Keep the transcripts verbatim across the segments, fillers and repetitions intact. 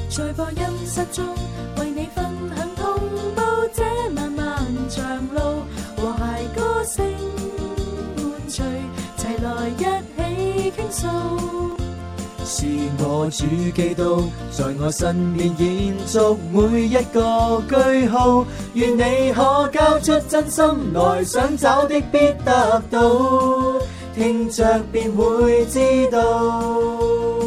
在播音室中為你分享同步這漫漫長路，和諧歌聲伴隨，齊來一起傾訴。 是我主基督在我身邊延續每一個句號，願你可交出真心來，想找的必得到，聽着便會知道。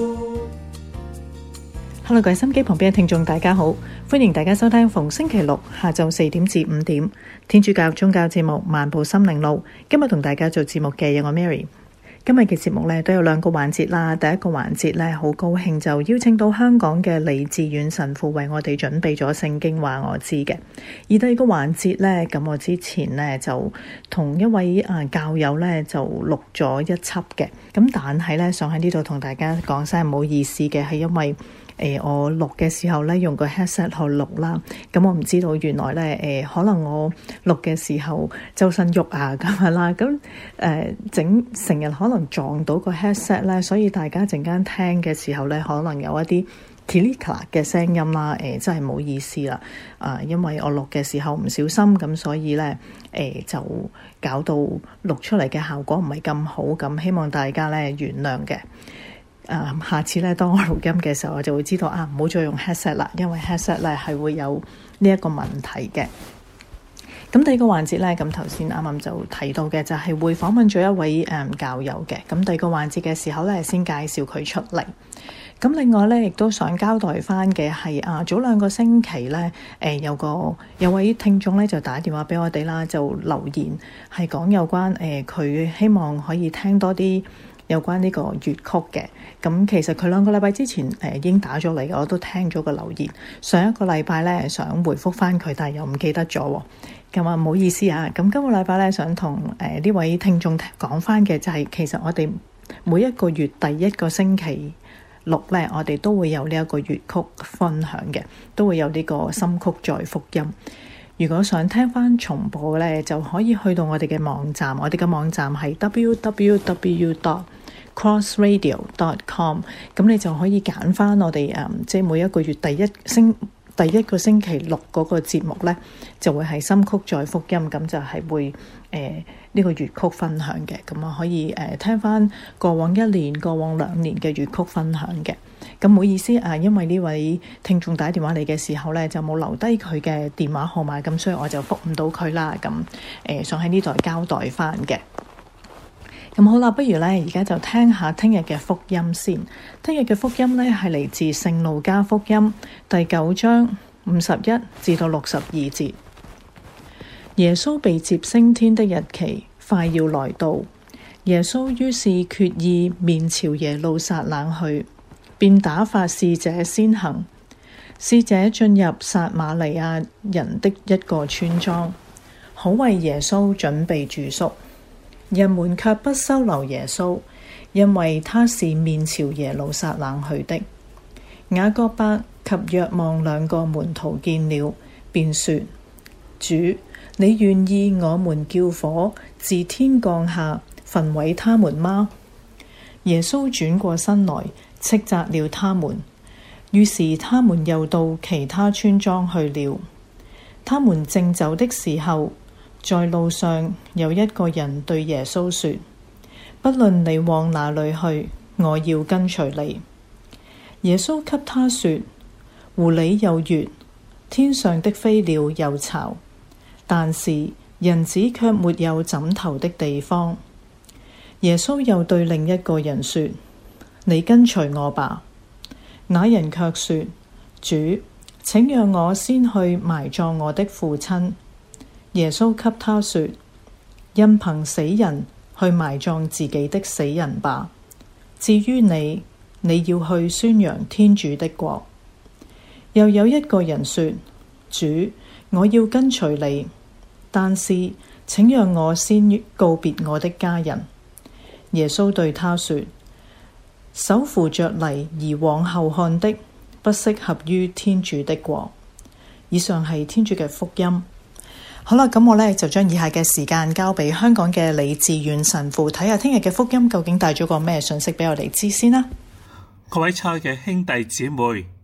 Hello， 各位心機旁邊嘅聽眾大家好，歡迎大家收聽逢星期六下晝四點至五點天主教宗教節目《漫步心靈路》。今日同大家做節目嘅有我 Mary。今日嘅節目咧都有兩個環節啦。第一個環節咧好高興就邀請到香港嘅李志遠神父為我哋準備咗聖經話我知嘅。而第二個環節咧，咁我之前咧就同一位啊教友咧就錄咗一輯嘅。咁但係咧想喺呢度同大家講聲唔好意思嘅，係因為誒、呃、我錄嘅時候咧用個 headset 去錄啦，咁我唔知道原來咧誒、呃、可能我錄嘅時候周身喐啊咁樣啦，咁誒、呃、整成日可能撞到個 headset 咧，所以大家陣間聽嘅時候咧可能有一啲 click 嘅聲音啦，誒、呃、真係唔好意思啦，啊、呃、因為我錄嘅時候唔小心，咁所以咧誒、呃、就搞到錄出嚟嘅效果唔係咁好，咁希望大家咧原諒嘅。Uh, 下次咧，當我錄音嘅時候，我就會知道啊，唔好再用 headset 啦，因為 headset 咧係會有呢一個問題嘅。咁第二個環節咧，咁頭先啱啱就提到嘅就係會訪問咗一位誒、嗯、教友嘅。咁第二個環節嘅時候咧，先介紹佢出嚟。咁另外咧，亦都想交代翻嘅係啊，早兩個星期咧，誒、呃、有個有位聽眾咧就打電話俾我哋啦，就留言係講有關誒佢、呃、希望可以聽多啲有關呢個粵曲嘅。咁其實佢兩個禮拜之前誒、呃、已經打咗嚟，我都聽咗個留言。上一個禮拜咧想回覆翻佢，但係又唔記得咗喎。咁啊唔好意思啊。咁今個禮拜咧想同誒呢位聽眾講翻嘅就係、是，其實我哋每一個月第一個星期六咧，我哋都會有呢一個粵曲分享嘅，都會有呢個心曲載福音。如果想聽翻重播咧，就可以去到我哋嘅網站，我哋嘅網站係 double-u double-u double-u dot cross radio dot com， 咁你就可以揀翻我哋誒、嗯，即係每一個月第一星第一個星期六嗰個節目咧，就會係心曲載福音，咁就係會誒呢、呃這個粵曲分享嘅，咁啊可以誒、呃、聽翻過往一年、過往兩年嘅粵曲分享嘅。咁唔好意思啊，因為呢位聽眾打電話嚟嘅時候咧，就冇留低佢嘅電話號碼，咁所以我就覆唔到佢啦。咁誒、呃、想喺呢度交代翻嘅。咁好啦，不如咧而家就聽下聽日嘅福音先。聽日嘅福音咧係嚟自聖路加福音第九章五十一至到六十二節。耶穌被接升天的日期快要來到，耶穌於是決意面朝耶路撒冷去，便打發使者先行。使者進入撒瑪利亞人的一個村莊，好為耶穌準備住宿。人們卻不收留耶穌，因為他是面朝耶路撒冷去的。雅各伯及若望兩個門徒見了，便說：主，你願意我們叫火自天降下，焚毀他們嗎？耶穌轉過身來，斥責了他們。於是他們又到其他村莊去了。他們正走的時候，在路上有一個人對耶穌說：不論你往哪裏去，我要跟隨你。耶穌給他說：狐狸有穴，天上的飛鳥有巢，但是人子卻沒有枕頭的地方。耶穌又對另一個人說：你跟隨我吧。那人卻說：主，請讓我先去埋葬我的父親。耶穌給他說：任憑死人去埋葬自己的死人吧。至於你，你要去宣揚天主的國。又有一個人說：主，我要跟隨你，但是請讓我先告別我的家人。耶穌對他說：手扶着犁而往後看的，不適合於天主的國。以上係天主嘅福音。好啦，咁我呢就將以下嘅時間交俾香港嘅李志遠神父，睇下聽日嘅福音究竟帶咗個咩信息俾我哋知先啦。 各位親愛嘅兄弟姊妹，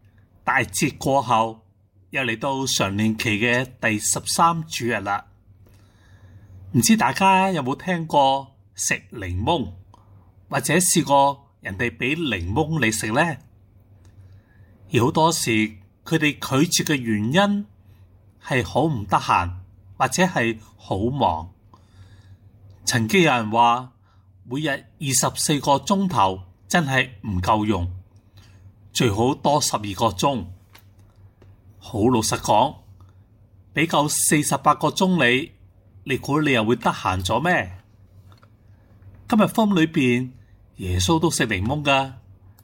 大節過後，又嚟到常年期嘅第十三主日啦。唔知大家有冇聽過食檸檬，或者試過人哋俾檸檬你食呢？而好多時佢哋拒絕嘅原因係好唔得閒，或者係好忙。曾經有人話，每日二十四個鐘頭真係唔夠用，最好多十二個鐘。好老實講，俾夠四十八個鐘你，你估你又會得閒咗咩？今日福音裏邊，耶穌都食檸檬噶。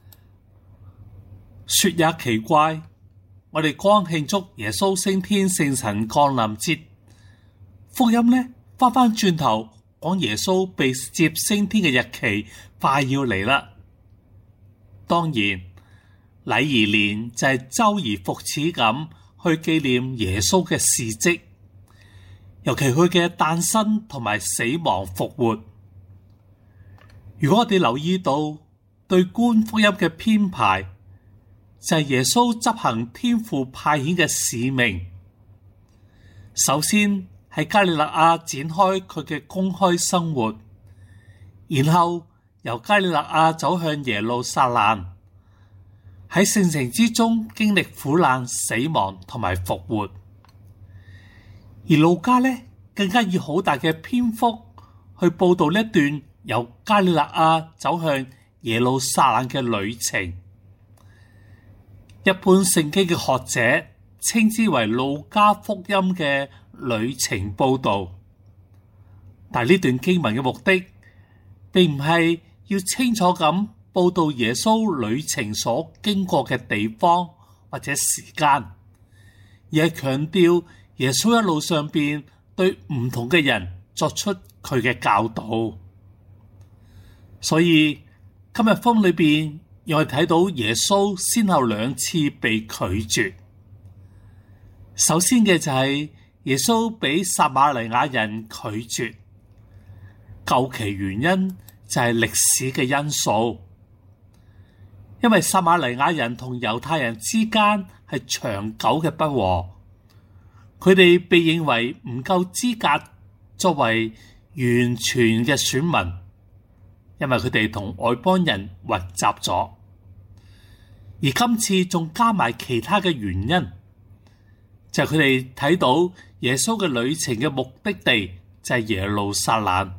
說也奇怪，我哋剛慶祝耶穌升天聖神降臨節，福音呢翻翻轉頭講耶穌被接升天嘅日期快要嚟啦。當然，禮儀年就係周而復始咁去紀念耶穌嘅事蹟，尤其佢嘅誕生同埋死亡復活。如果我哋留意到對觀福音嘅編排，就係耶穌執行天父派遣嘅使命。首先喺加利肋亞展開佢嘅公開生活，然後由加利肋亞走向耶路撒冷，喺聖城之中經歷苦難、死亡同埋復活。而路加呢，更加以好大嘅篇幅去報道呢一段由加利肋亞走向耶路撒冷嘅旅程。一般聖經嘅學者稱之為路加福音嘅旅程報道，但係呢段經文嘅目的，並唔係要清楚咁報道耶穌旅程所經過嘅地方或者時間，而係強調耶穌一路上邊對唔同嘅人作出佢嘅教導。所以今日福音裏邊，讓我哋睇到耶穌先後兩次被拒絕。首先嘅就係耶穌俾撒瑪黎雅人拒絕，究其原因就係歷史嘅因素，因為撒瑪黎雅人同猶太人之間係長久嘅不和，佢哋被認為唔夠資格作為完全嘅選民，因為佢哋同外邦人混雜咗。而今次仲加埋其他嘅原因，就係佢哋睇到耶穌嘅旅程嘅目的地就係耶路撒冷。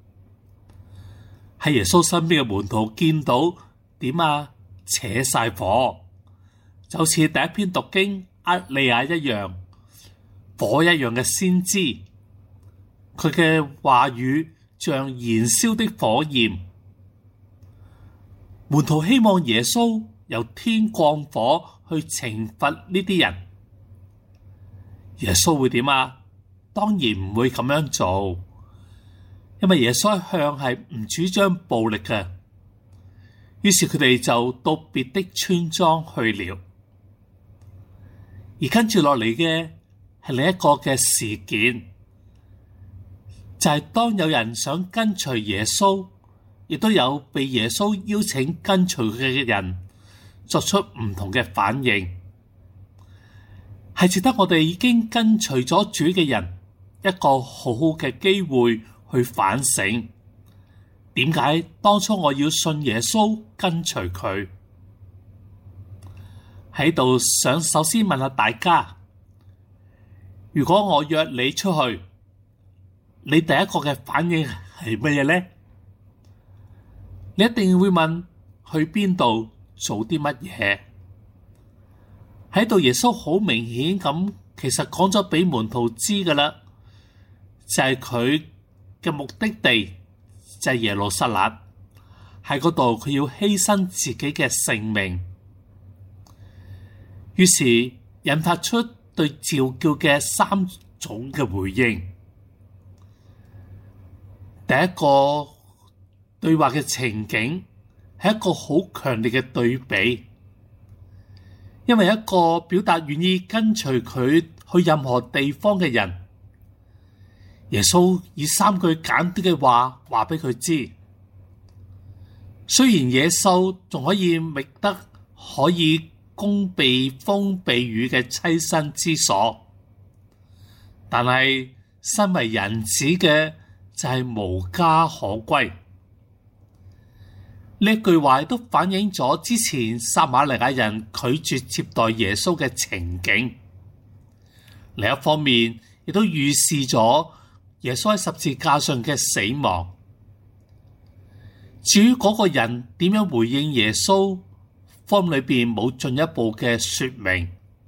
喺耶穌身邊嘅門徒見到點啊，扯晒火，就好似第一篇讀經厄利亞一樣，火一樣嘅先知，佢嘅話語像燃燒的火焰。門徒希望耶穌由天降火去懲罰呢啲人，耶穌會點啊？當然唔會咁樣做，因為耶穌一向係唔主張暴力嘅。於是佢哋就到別的村莊去了。而跟住落嚟嘅係另一個嘅事件，就係當有人想跟隨耶穌，亦都有被耶穌邀請跟隨佢嘅人作出唔同嘅反應，係值得我哋已經跟隨咗主嘅人一個好好嘅機會去反省。點解當初我要信耶穌跟隨佢？喺度想首先問下大家，如果我約你出去，你第一個嘅反應係乜嘢呢？你一定會問去邊度？做啲乜嘢？喺度耶穌好明顯咁，其實講咗俾門徒知噶啦，就係佢嘅目的地就係耶路撒冷，喺嗰度佢要犧牲自己嘅性命。於是引發出對召叫嘅三種嘅回應。第一個對話嘅情景係一個好強烈嘅對比，因為一個表達願意跟隨佢去任何地方嘅人，耶穌以三句簡短嘅話話俾佢知，雖然野獸仲可以覓得可以供避風避雨嘅棲身之所。但係身為人子嘅就係無家可歸。呢句話都反映咗之前撒瑪利亞人拒絕接待耶穌嘅情景。另一方面，亦都預示咗耶穌喺十字架上嘅死亡。至於嗰個人點樣回應耶穌，福音裏邊冇進一步嘅說明。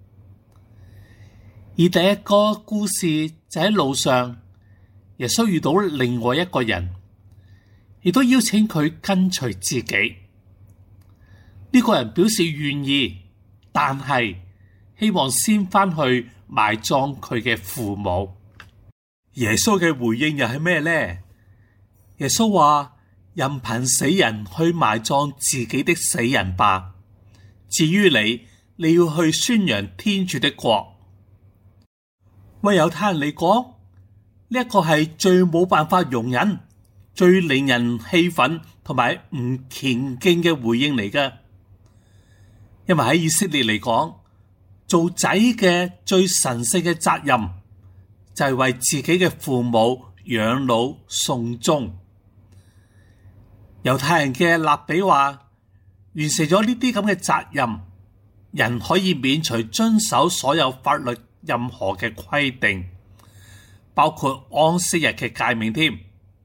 而第一個故事就喺路上，耶穌遇到另外一個人，亦都邀請佢跟隨自己。呢個人表示願意，但係希望先返去埋葬佢嘅父母。耶穌嘅回應又係咩呢？耶穌話：任憑死人去埋葬自己的死人吧。至於你，你要去宣揚天主的國。為猶太人嚟講，呢一個係最冇辦法容忍、最令人氣憤同埋唔虔敬嘅回應嚟㗎。因為喺以色列嚟講，做仔嘅最神聖嘅責任就係為自己嘅父母養老送終。猶太人嘅勒比話，完成咗呢啲咁嘅責任，人可以免除遵守所有法律任何嘅規定，包括安息日嘅誡命添。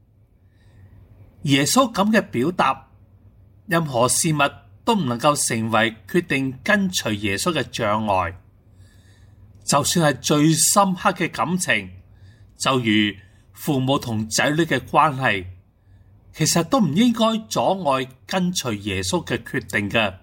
耶穌咁嘅表達，任何事物都唔能夠成為決定跟隨耶穌嘅障礙。就算係最深刻嘅感情，就如父母同仔女嘅關係，其實都唔應該阻礙跟隨耶穌嘅決定嘅。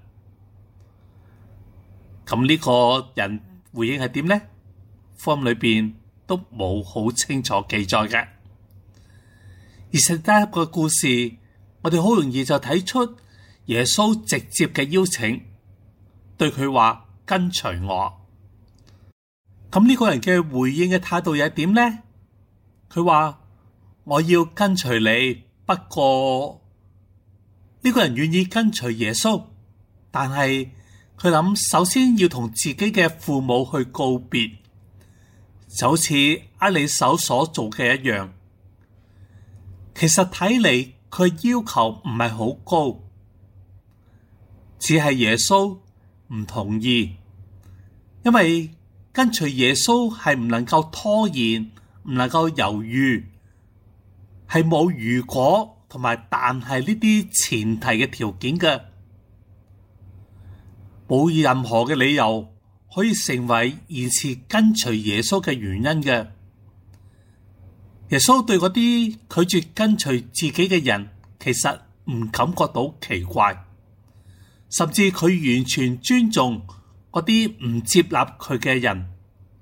咁呢個人回應係點呢？福音裏邊都冇好清楚記載嘅。而實得一個故事，我哋好容易就睇出耶穌直接嘅邀請，對佢話跟隨我。咁呢個人嘅回應嘅態度又係點呢？佢話我要跟隨你，不過呢個人願意跟隨耶穌，但係佢諗首先要同自己嘅父母去告別，就好似厄里叟所做嘅一樣。其實睇嚟佢要求唔係好高，只係耶穌唔同意，因為跟隨耶穌係唔能夠拖延，唔能夠猶豫，係冇如果同埋但係呢啲前提嘅條件嘅，冇任何嘅理由可以成為延遲跟隨耶穌嘅原因嘅。耶穌對嗰啲拒絕跟隨自己嘅人，其實唔感覺到奇怪，甚至佢完全尊重嗰啲唔接納佢嘅人。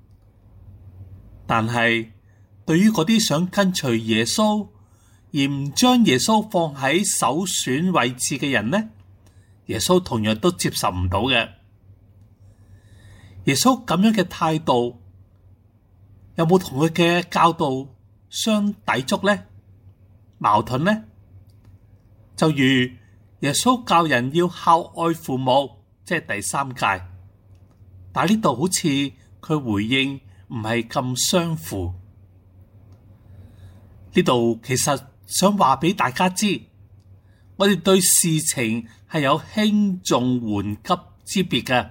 但係對於嗰啲想跟隨耶穌而唔將耶穌放喺首選位置嘅人呢，耶穌同樣都接受唔到嘅。耶穌咁樣嘅態度有冇同佢嘅教導相抵觸呢？矛盾呢？就如耶穌教人要孝愛父母，即係第三誡，但係呢度好似佢回應唔係咁相符。呢度其實想話俾大家知，我哋對事情係有輕重緩急之別嘅。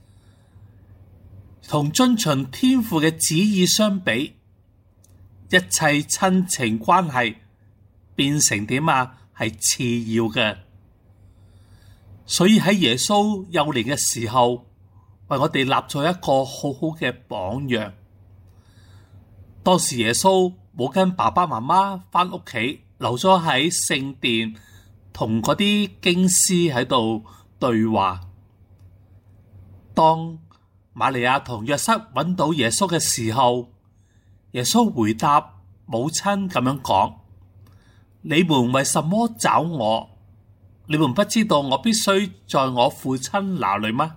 同遵循天父嘅旨意相比，一切親情關係變成點啊？係次要嘅。所以喺耶穌幼年嘅時候，為我哋立咗一個好好嘅榜樣。當時耶穌冇跟爸爸媽媽返屋企，留咗喺聖殿同嗰啲經師喺度對話。當瑪利亞同約瑟揾到耶穌嘅時候，耶穌回答母親咁樣講：你們為什麼找我？你們不知道我必須在我父親那裏嗎？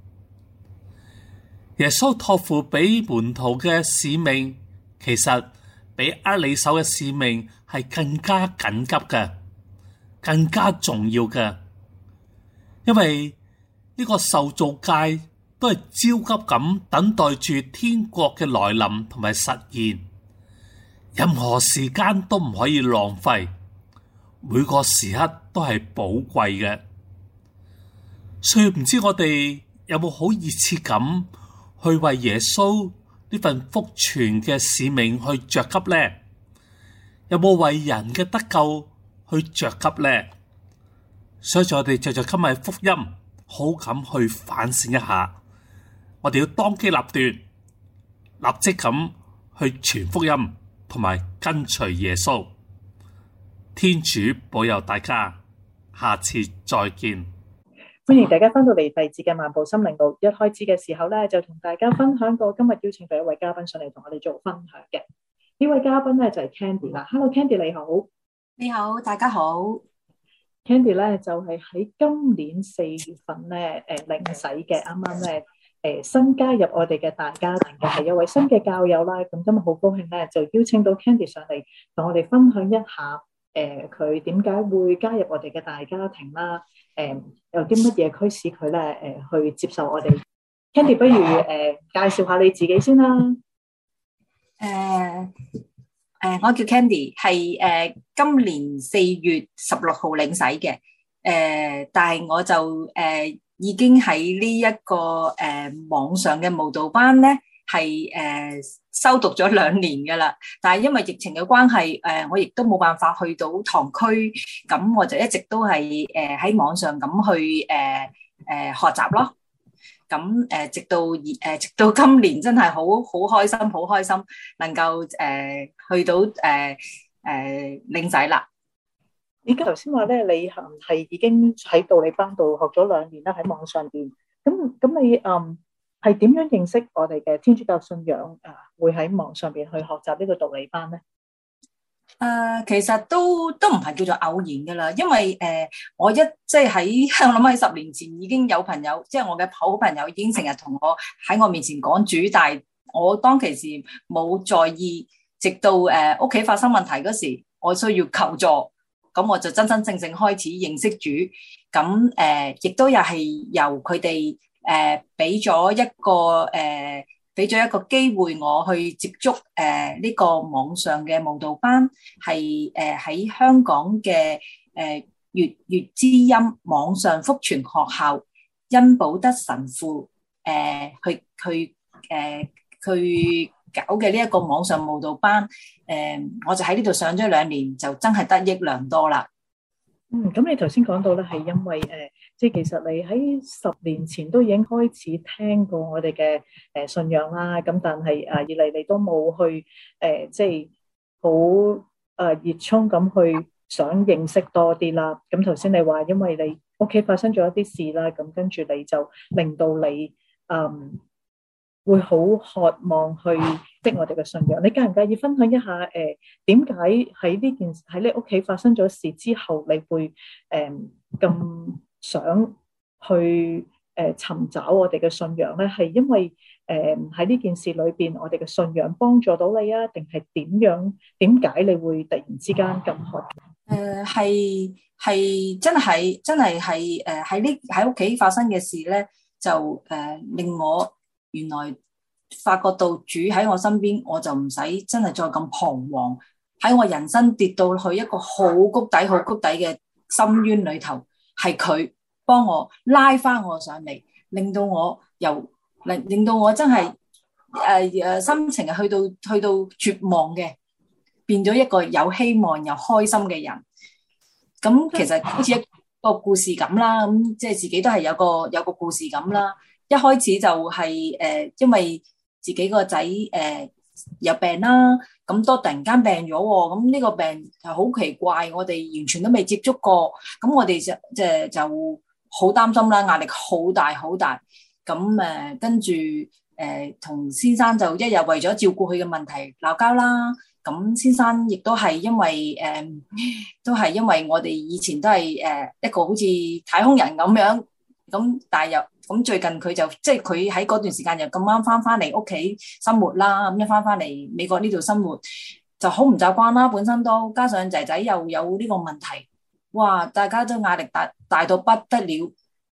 耶穌託付俾門徒嘅使命，其實比厄里叟嘅使命係更加緊急嘅，更加重要嘅，因為呢個受造界都係焦急咁等待住天國嘅來臨同埋實現，任何時間都唔可以浪費，每個時刻都係寶貴嘅。所以唔知我哋有冇好熱切咁去為耶穌呢份福傳嘅使命去着急呢？有冇為人嘅得救去着急呢？所以我哋藉著今日福音，好咁去反省一下，我哋要當機立斷，立即咁去傳福音，同埋跟隨耶穌。天主保佑大家，下次再見。 歡迎大家翻到嚟第二節嘅漫步心靈路。一開始嘅時候咧，就同大家分享過今日邀請到一位嘉賓上嚟同我哋做分享嘅。呢位嘉賓咧就係 Candy 啦。Hello Candy， 你好。 你好，大家好。 Candy 咧就係喺今年四月份咧誒領洗嘅，啱啱咧誒新加入我哋嘅大家庭嘅係一位新嘅教友啦。咁今日好高興咧，就邀請到 Candy 上嚟同我哋分享一下誒佢點解會加入我哋嘅大家庭啦。誒有啲乜嘢驅使佢咧誒去接受我哋 Candy， 不如誒、呃、介紹下你自己先啦。誒、 呃呃、我叫 Candy， 係誒、呃、今年四月十六號領洗嘅。誒、呃、但係我就誒、呃、已經喺呢一個誒、呃、網上嘅慕道班咧，係誒、呃、修讀咗兩年噶啦。但係因為疫情嘅關係，誒、呃、我亦都冇辦法去到堂區，咁我就一直都係誒喺網上咁去誒誒、呃呃、學習咯。咁誒、呃、直到誒、呃、直到今年真係好好開心，好開心能夠誒、呃、去到誒誒、呃呃、領洗啦。 你頭先話咧，你係已經喺道理班度學咗兩年啦，喺網上邊。咁咁你嗯係點樣認識我哋嘅天主教信仰啊？會喺網上邊去學習呢個道理班咧？ 誒、呃，其實都都唔係叫做偶然噶啦，因為誒、呃，我一即係喺我諗喺十年前已經有朋友，即係我嘅好朋友已經成日同我喺我面前講主，但係我當其時冇在意，直到誒屋企發生問題嗰時，我需要求助，咁我就真真正正開始認識主，咁誒亦都又係由佢哋誒俾咗一個誒。俾咗一個機會我去接觸誒呢、呃這個網上嘅慕道班，係誒喺香港嘅誒粵粵之音網上福傳學校恩保德神父誒、呃、去去誒、呃、去搞嘅呢一個網上慕道班，誒、呃、我就喺呢度上咗兩年，就真係得益良多啦。 嗯，咁你頭先講到咧，係因為誒、呃，即係其實你喺十年前都已經開始聽過我哋嘅誒信仰啦，咁但係誒以嚟你都冇去誒、呃，即係好誒熱衷咁去想認識多啲啦。咁頭先你話因為你屋企發生咗一啲事啦，咁跟住你就令到你嗯會好渴望去識我哋嘅信仰。你介唔介意分享一下誒點解喺呢件喺你屋企發生咗事之後，你會誒咁、呃、想去誒、呃、尋找我哋嘅信仰咧？係因為誒喺呢件事裏邊，我哋嘅信仰幫助到你啊？定係點樣？點解你會突然之間咁渴？ 誒係係真係真係係誒喺呢喺屋企發生嘅事咧，就誒、呃、令我原來發覺到主喺我身邊，我就唔使真係再咁彷徨。喺我人生跌到去一個好谷底、好谷底嘅深淵裏頭，係佢幫我拉翻我上嚟，令到我由令令到我真係誒誒心情係去到去到絕望嘅，變咗一個有希望又開心嘅人。咁其實好似一個故事咁啦，咁即係自己都係有個有個故事咁啦。一開始就係、是、誒、呃，因為自己個仔誒有病啦，咁都突然間病咗喎，咁呢個病就好奇怪，我哋完全都未接觸過，咁我哋就即係就好擔心啦，壓力好大好大，咁誒跟住誒同先生就一日為咗照顧佢嘅問題鬧交啦。咁先生亦都係因為誒、呃，都係因為我哋以前都係誒、呃、一個好似太空人咁樣，咁但係又咁最近佢就即係佢喺嗰段時間又咁啱翻翻嚟屋企生活啦，咁一翻翻嚟美國呢度生活就好唔習慣啦，本身都加上仔仔又有呢個問題，哇！大家都壓力大大到不得了，咁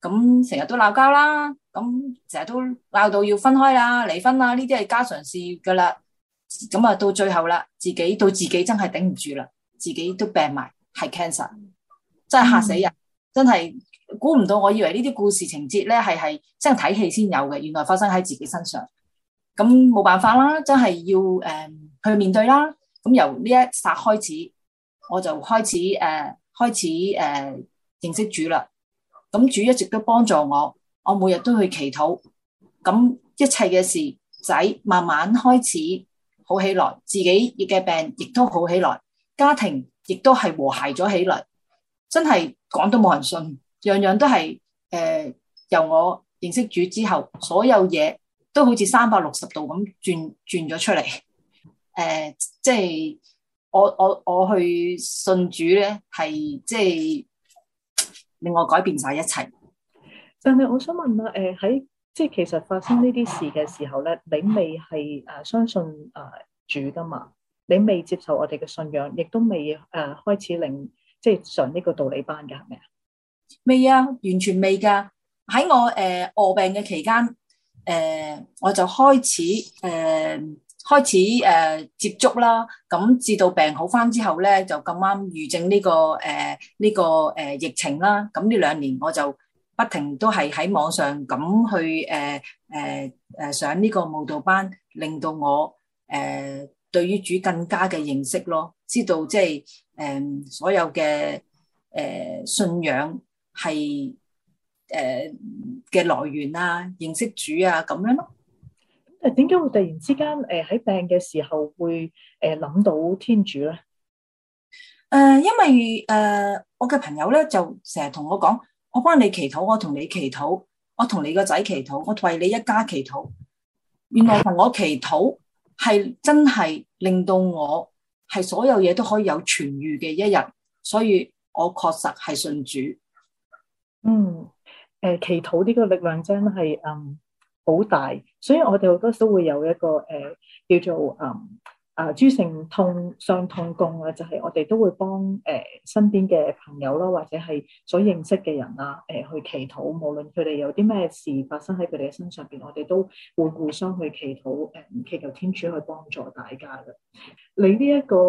咁成日都鬧交啦，咁成日都鬧到要分開啦、離婚啦，呢啲係家常事噶啦。咁啊到最後啦，自己到自己真係頂唔住啦，自己都病埋，係 cancer， 真係嚇死人，嗯、真係估唔到。我以為呢啲故事情節咧係係真係睇戲先有嘅，原來發生喺自己身上。咁冇辦法啦，真係要誒、呃、去面對啦。咁由呢一剎開始，我就開始誒、呃、開始誒、呃、認識主啦。咁主一直都幫助我，我每日都去祈禱。咁一切嘅事仔慢慢開始好起來，自己嘅病亦都好起來，家庭亦都係和諧咗起嚟。真係講都冇人信，樣樣都係誒、呃、由我認識主之後，所有嘢都好似三百六十度咁轉轉咗出嚟。誒、呃，即係我我我去信主咧，係即係令我改變晒一切。 但係我想問啦，誒、呃、喺即係其實發生呢啲事嘅時候咧，你未係誒相信誒、呃、主噶嘛？你未接受我哋嘅信仰，亦都未誒、呃、開始令即係上呢個道理班嘅，係咪啊？ 未啊，完全未噶。喺我誒臥、呃、病嘅期間，誒、呃、我就開始誒、呃、開始誒、呃、接觸啦。咁至到病好翻之後咧，就咁啱遇正呢、這個誒呢、呃這個誒、呃、疫情啦。咁呢兩年我就不停都係喺網上咁去誒誒誒上呢個舞蹈班，令到我誒、呃、對於主更加嘅認識咯，知道即係誒所有嘅誒、呃、信仰係誒嘅來源啊，認識主啊咁樣咯。 誒點解會突然之間誒喺病嘅時候會誒諗到天主咧？誒、 呃，因為誒、呃、我嘅朋友咧就成日同我講，我幫你祈禱，我同你祈禱，我同你個仔祈禱，我為你一家祈禱。原來同我祈禱係真係令到我係所有嘢都可以有痊癒嘅一日，所以我確實係信主。 嗯，誒、呃，祈禱呢個力量真係嗯好大，所以我哋好多時都會有一個誒、呃、叫做嗯。啊，諸聖痛相通功啊，就係、是、我哋都會幫誒、呃、身邊嘅朋友啦，或者係所認識嘅人啊，誒、呃、去祈禱，無論佢哋有啲咩事發生喺佢哋嘅身上邊，我哋都會互相去祈禱，誒、呃、祈求天主去幫助大家嘅。你呢一個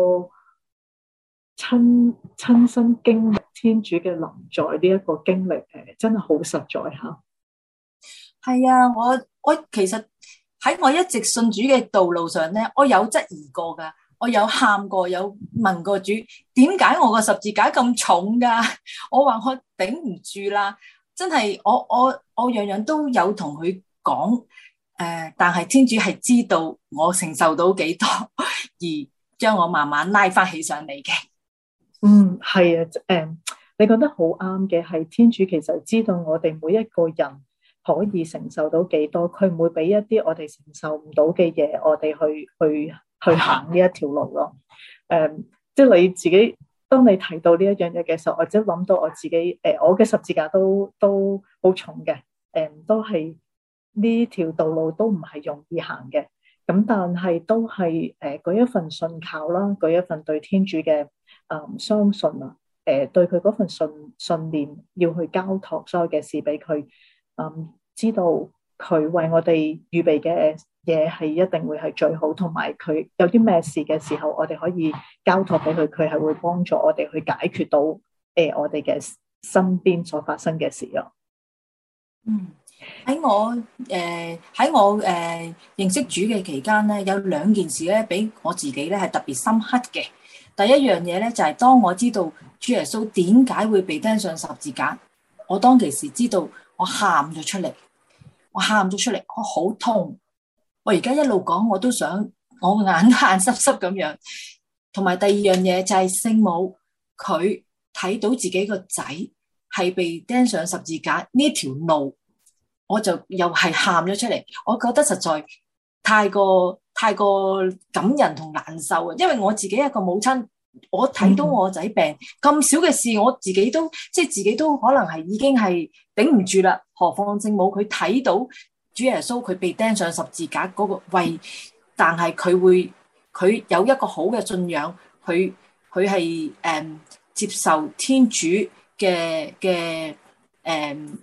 親親身經歷天主嘅臨在呢一個經歷，誒、呃、真係好實在嚇。係啊，我我其實。喺我一直信主嘅道路上咧，我有質疑過噶，我有喊過，有問過主，點解我個十字架咁重噶？我話我頂唔住啦，真係我我我樣樣都有同佢講，誒、呃，但係天主係知道我承受到幾多，而將我慢慢拉翻起上嚟嘅。嗯，係啊，誒、呃，你覺得好啱嘅，係天主其實知道我哋每一個人可以承受到幾多，佢唔會俾一啲我哋承受唔到嘅嘢，我哋去去去行呢一條路咯。誒、um，即係你自己，當你提到呢一樣嘢嘅時候，或者諗到我自己，誒、呃，我嘅十字架都都好重嘅，誒、um，都係呢條道路都唔係容易行嘅。咁但係都係誒嗰一份信靠啦，嗰一份對天主嘅誒、嗯、相信啊，誒、呃、對佢嗰份信信念，要去交託所有嘅事俾佢。嗯，知道佢為我哋預備嘅嘢係一定會係最好，同埋佢有啲咩事嘅時候，我哋可以交託俾佢，佢係會幫助我哋去解決到誒、呃、我哋嘅身邊所發生嘅事咯。嗯，喺我誒喺我誒、呃、認識主嘅期間咧，有兩件事咧，俾我自己咧係特別深刻嘅。第一樣嘢咧就係、是、當我知道主耶穌點解會被釘上十字架，我當其時知道。我喊咗出嚟，我喊咗出嚟，我好痛。我而家一路講，我都想我眼眼濕濕咁樣。同埋第二樣嘢就係聖母，佢睇到自己個仔係被釘上十字架呢條路，我就又係喊咗出嚟。我覺得實在太過太過感人同難受啊！因為我自己一個母親。我睇到我仔病咁少嘅事，我自己都即係自己都可能係已經係頂唔住啦。何況聖母佢睇到主耶穌佢被釘上十字架嗰個位，但係佢會佢有一個好嘅信仰，佢佢係誒接受天主嘅嘅誒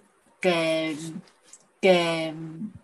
嘅嘅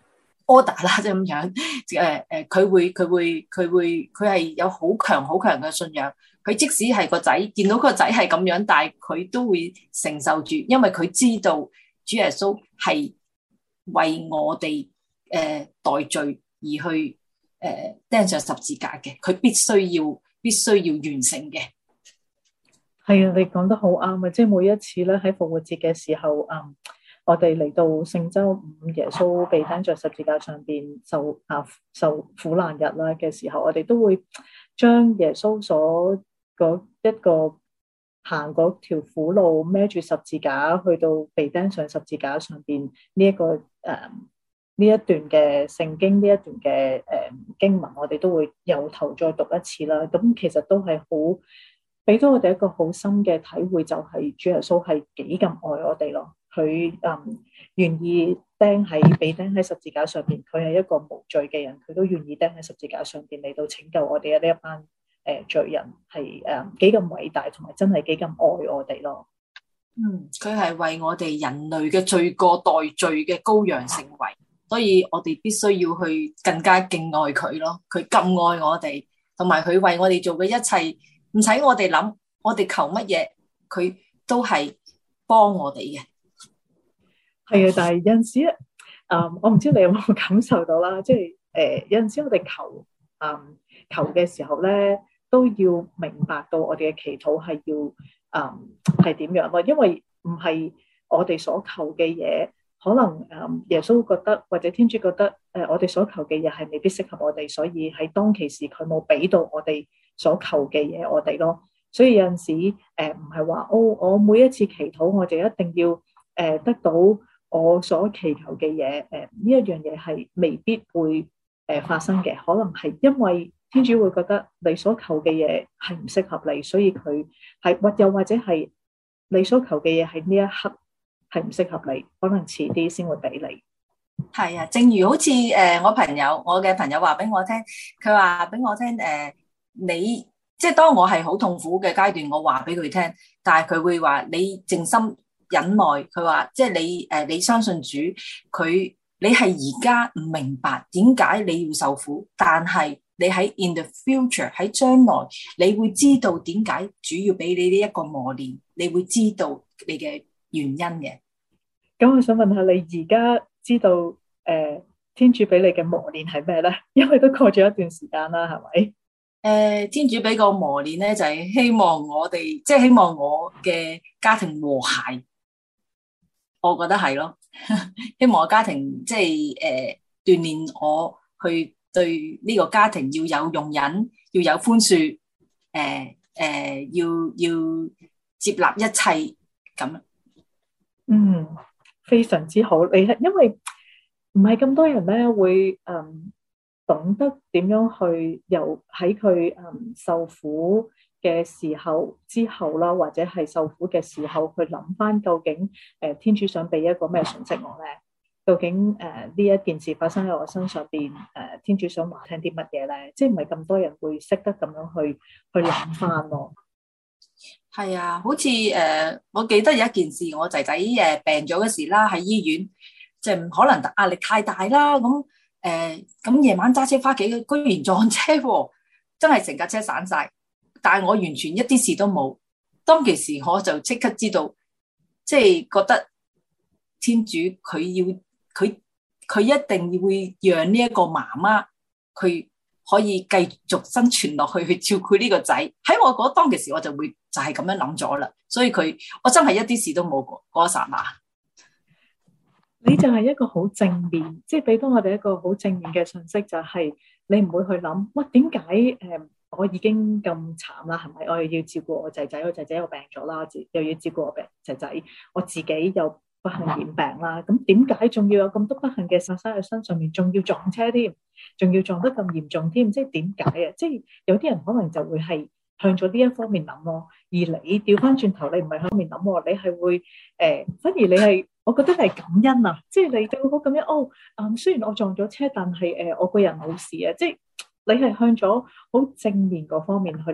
order 啦，即係咁樣。誒誒，佢會佢會佢會佢係有好強好強嘅信仰。佢即使係個仔見到個仔係咁樣，但係佢都會承受住，因為佢知道主耶穌係為我哋誒、呃、代罪而去誒、呃、釘上十字架嘅，佢必須要必須要完成嘅。 係啊，你講得好啱啊！即係每一次咧喺復活節嘅時候，嗯，我哋嚟到聖週五，耶穌被釘在十字架上邊受啊受苦難日啦嘅時候，我哋都會將耶穌所嗰一個行嗰條苦路，孭住十字架去到被釘上十字架上邊呢一個誒呢一段嘅聖經，呢一段嘅誒經文，我哋都會由頭再讀一次啦。咁其實都係好俾到我哋一個好深嘅體會，就係主耶穌係幾咁愛我哋咯。佢誒願意釘喺被釘喺十字架上邊，佢係一個無罪嘅人，佢都願意釘喺十字架上邊嚟到拯救我哋嘅呢一班。誒，罪人係誒幾咁偉大，同埋真係幾咁愛我哋咯。 嗯，佢係為我哋人類嘅罪過代罪嘅羔羊成為，所以我哋必須要去更加敬愛佢咯。佢咁愛我哋，同埋佢為我哋做嘅一切，唔使我哋諗，我哋求乜嘢，佢都係幫我哋嘅。 係啊，但係有陣時咧，誒，我唔知你有冇感受到啦，即係誒有陣時我哋求誒求嘅時候咧，都要明白到我哋嘅祈禱係要誒係點樣咯，因為唔係我哋所求嘅嘢，可能誒耶穌覺得或者天主覺得誒我哋所求嘅嘢係未必適合我哋，所以喺當其時佢冇俾到我哋所求嘅嘢我哋咯。所以有陣時誒唔係話哦，我每一次祈禱我就一定要誒得到我所祈求嘅嘢，誒呢一樣嘢係未必會誒發生嘅，可能係因為天主會覺得你所求嘅嘢係唔適合你，所以佢係或又或者係你所求嘅嘢喺呢一刻係唔適合你，可能遲啲先會俾你。 係啊，正如好似誒、呃、我朋友，我嘅朋友話俾我聽，佢話俾我聽誒、呃，你即係當我係好痛苦嘅階段，我話俾佢聽，但係佢會話你靜心忍耐，佢話即係你誒、呃、你相信主，佢你係而家唔明白點解你要受苦，但係你喺 in the future 喺將來，你會知道點解主要俾你呢一個磨練，你會知道你嘅原因嘅。 咁我想問下你而家知道誒、呃、天主俾你嘅磨練係咩咧？因為都過咗一段時間啦，係咪？誒、 呃，天主俾個磨練咧，就係、是、希望我哋，即、就、係、是、希望我嘅家庭和諧。我覺得係咯，希望我家庭即係誒鍛煉我去對呢個家庭要有容忍，要有寬恕，誒、呃、誒、呃、要要接納一切咁。 嗯，非常之好。你係因為唔係咁多人咧會嗯懂得點樣去由喺佢嗯受苦嘅時候之後啦，或者係受苦嘅時候去諗翻究竟誒、呃、天主想俾一個咩訊息我咧？究竟誒呢、呃、一件事發生喺我身上邊，誒、呃、天主想話聽啲乜嘢咧？即係唔係咁多人會識得咁樣去去諗翻咯？ 係啊，好似誒、呃，我記得有一件事，我仔仔誒病咗嗰時啦，喺醫院，即係可能壓力太大啦，咁誒咁夜晚揸車翻屋企，居然撞車喎，真係成架車散晒。但係我完全一啲事都冇，當其時我就即刻知道，即係覺得天主佢要佢佢一定會讓呢一個媽媽佢可以繼續生存落去，去照顧呢個仔。喺我嗰當其時我就會就係咁樣諗咗啦，所以佢我真係一啲事都冇過嗰一剎那。 你就係一個好正面，即係俾到我哋一個好正面嘅信息，就係你唔會去諗，哇點解誒我已經咁慘啦，係咪？我又要照顧我仔仔，我仔仔又病咗啦，又要照顧我病仔仔，我自己又不幸染病啦。咁點解仲要有咁多不幸嘅發生喺身上面，仲要撞車添，仲要撞得咁嚴重添？即係點解啊？即係有啲人可能就會係向咗呢一方面諗咯，而你調翻轉頭，你唔係向方面諗，你係會誒、呃，反而你係，我覺得係感恩啊！即係你對我咁樣，哦，嗯，雖然我撞咗車，但係誒、呃，我個人冇事啊！即係你係向咗好正面嗰方面去。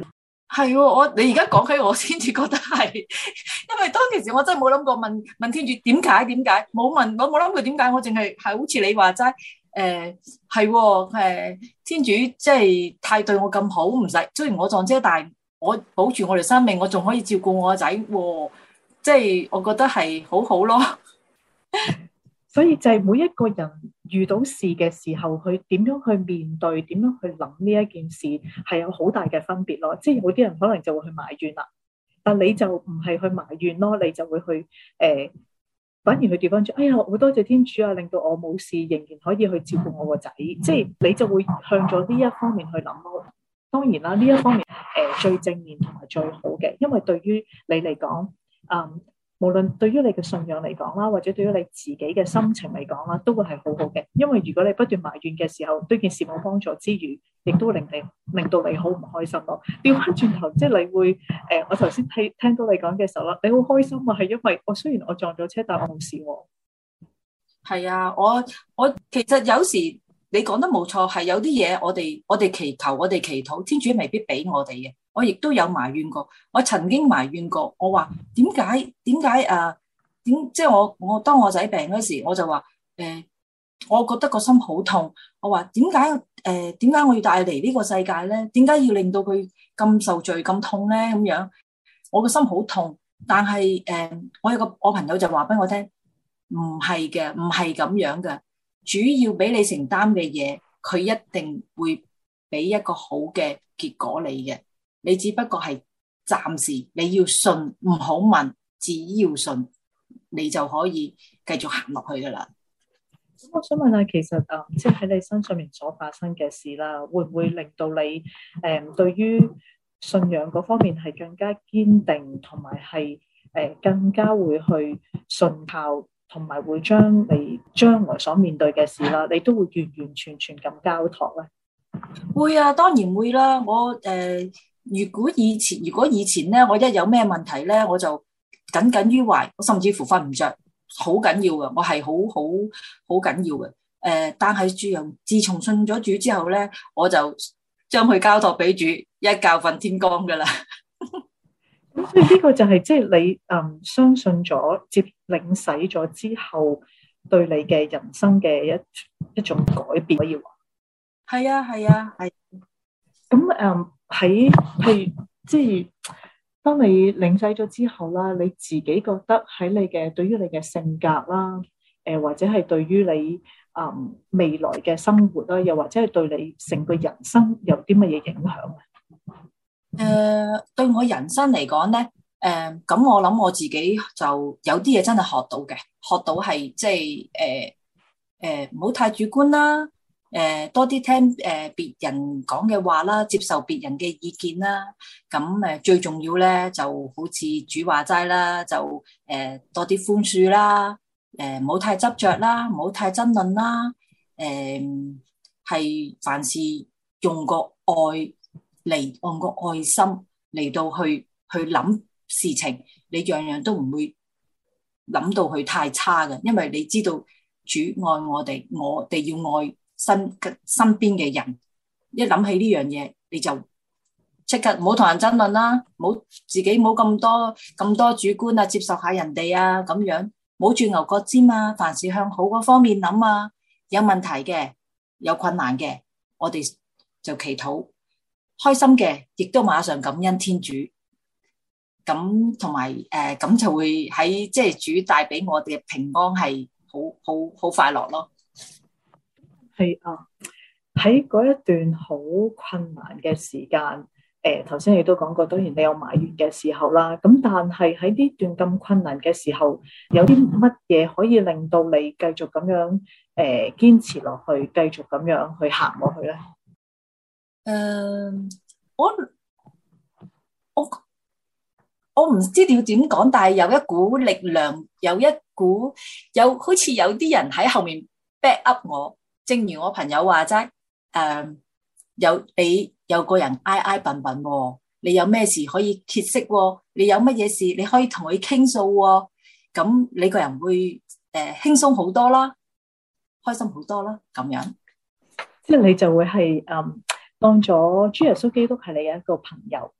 係喎，我你而家講起我先至覺得係，因為當其時我真係冇諗過問問天主點解點解，冇問我冇諗過點解，我淨係係好似你話齋，誒係喎，誒天主即係太對我咁好，唔使雖然我撞車，但係我保住我條生命，我仲可以照顧我個仔，即係我覺得係好好咯。 所以就係每一個人遇到事嘅時候，佢點樣去面對，點樣去諗呢一件事，係有好大嘅分別咯。即係有啲人可能就會去埋怨啦，但你就唔係去埋怨咯，你就會去誒、呃，反而去調翻轉。哎呀，好多謝天主啊，令到我冇事，仍然可以去照顧我個仔。即係你就會向咗呢一方面去諗咯。當然啦，呢一方面誒、呃、最正面同埋最好嘅，因為對於你嚟講，嗯。無論對於你嘅信仰嚟講啦，或者對於你自己嘅心情嚟講啦，都會係好好嘅。因為如果你不斷埋怨嘅時候，對件事冇幫助之餘，亦都令你令到你好唔開心咯。調翻轉頭，即係你會誒、呃，我頭先聽聽到你講嘅時候啦，你好開心啊，係因為我雖然我撞咗車，但我冇事喎。 係啊，我我其實有時你講得冇錯，係有啲嘢我哋我哋祈求，我哋祈禱，天主未必俾我哋嘅。我亦都有埋怨過，我曾經埋怨過，我話點解點解啊？點即係我我當我仔病嗰時，我就話誒、呃，我覺得個心好痛。我話點解誒點解我要帶嚟呢個世界咧？點解要令到佢咁受罪咁痛咧？咁樣我個心好痛。但係誒、呃，我有個我朋友就話俾我聽，唔係嘅，唔係咁樣嘅。主要俾你承擔嘅嘢，佢一定會俾一個好嘅結果你嘅。你只不過係暫時，你要信，唔好問，只要信，你就可以繼續行落去噶啦。 咁我想問下，其實誒，即係喺你身上面所發生嘅事啦，會唔會令到你誒、嗯、對於信仰嗰方面係更加堅定，同埋係誒更加會去信靠，同埋會將你將來所面對嘅事啦，你都會完完全全咁交託咧？ 會啊，當然會啦。我誒。呃如果以前，如果以前咧，我一有咩問題咧，我就耿耿於懷，我甚至乎瞓唔着，好緊要嘅，我係好好好緊要嘅。誒、呃，但係主人自從信咗主之後咧，我就將佢交託俾主，一覺瞓天光噶啦。 咁所以呢個就係即係你嗯相信咗、接領洗咗之後，對你嘅人生嘅一一種改變可以話。 係啊，係啊，係。 咁誒喺譬如即係當你領洗咗之後啦，你自己覺得喺你嘅對於你嘅性格啦，誒、呃、或者係對於你誒、嗯、未來嘅生活啦，又或者係對你成個人生有啲乜嘢影響啊？ 誒、呃，對我人生嚟講咧，誒、呃，咁我諗我自己就有啲嘢真係學到嘅，學到係即係誒誒，唔好太主觀啦。誒、呃，多啲聽誒別、呃、人講嘅話啦，接受別人嘅意見啦。咁誒、呃、最重要咧，就好似主話齋啦，就誒、呃、多啲寬恕啦。誒唔好太執着啦，唔好太爭論啦。誒、呃、係凡事用個愛嚟，用個愛心嚟到去去諗事情，你樣樣都唔會諗到佢太差嘅，因為你知道主愛我哋，我哋要愛身身邊嘅人，一諗起呢樣嘢，你就即刻唔好同人爭論啦，唔好自己唔好咁多咁多主觀啊，接受下人哋啊，咁樣冇住牛角尖啊，凡事向好嗰方面諗啊，有問題嘅，有困難嘅，我哋就祈禱，開心嘅亦都馬上感恩天主，咁同埋誒咁就會喺即係主帶俾我哋嘅平安係好好好快樂咯。 係啊，喺嗰一段好困難嘅時間，誒頭先你都講過，當然你有埋怨嘅時候啦。咁但係喺呢段咁困難嘅時候，有啲乜嘢可以令到你繼續咁樣誒堅持落去，繼續咁樣去行落去咧？ 誒、呃，我我我唔知要點講，但係有一股力量，有一股有好似有啲人喺後面 back up 我。正如我朋友話齋，誒、呃，有你有個人挨挨笨笨，你有咩事可以歇息，你有乜嘢事你可以同佢傾訴，咁你個人會誒、呃、輕鬆好多啦，開心好多啦，咁樣。 即係你就會係誒、嗯、當咗主耶穌基督係你嘅一個朋友，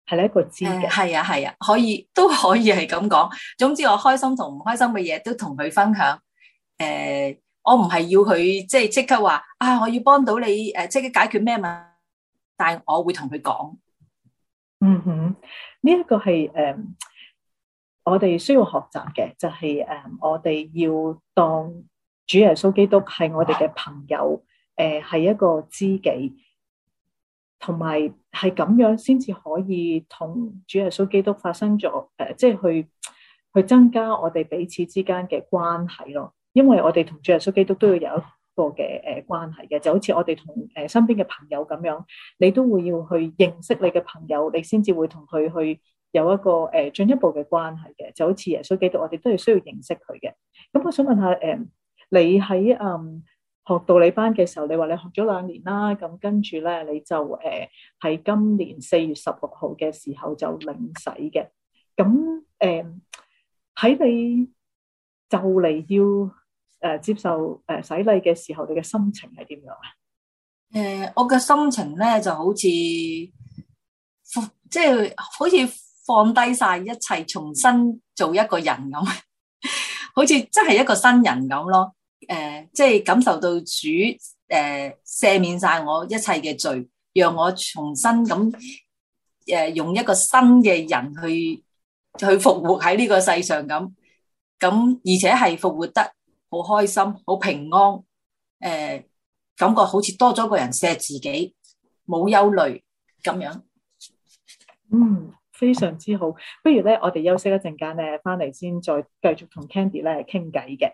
係你一個知誒嘅。 係啊係啊，可以都可以係咁講。總之我開心同唔開心嘅嘢都同佢分享。誒、我唔係要佢即係即刻話啊，我要幫到你誒，即刻解決咩問題，但係我會同佢講。 嗯哼，呢、這、一個係誒、嗯，我哋需要學習嘅，就係、是、誒、嗯，我哋要當主耶穌基督係我哋嘅朋友，誒、呃，係一個知己，同埋係咁樣先至可以同主耶穌基督發生咗誒、呃，即係去去增加我哋彼此之間嘅關係咯。因為我哋同主耶穌基督都要有一個嘅誒關係嘅，就好似我哋同誒身邊嘅朋友咁樣，你都會要去認識你嘅朋友，你先至會同佢去有一個誒進一步嘅關係嘅。就好似耶穌基督，我哋都係需要認識佢嘅。咁我想問下誒，你喺誒學道理班嘅時候，你話你學咗兩年啦，咁跟住咧你就誒喺今年四月十六號嘅時候就領洗嘅。咁誒喺你就嚟要誒、呃、接受誒洗禮嘅時候，你嘅心情係點樣啊？ 誒、呃，我嘅心情咧就好似即係好似放低晒一切，重新做一個人咁，好似真係一個新人咁咯。誒、呃，即係感受到主誒、呃、赦免晒我一切嘅罪，讓我重新咁誒、呃、用一個新嘅人去去復活喺呢個世上咁，咁而且係復活得好開心，好平安，誒、呃，感覺好似多咗個人錫自己，冇憂慮咁樣。 嗯，非常之好。不如咧，我哋休息一陣間咧，翻嚟先再繼續同 Candy 咧傾偈嘅。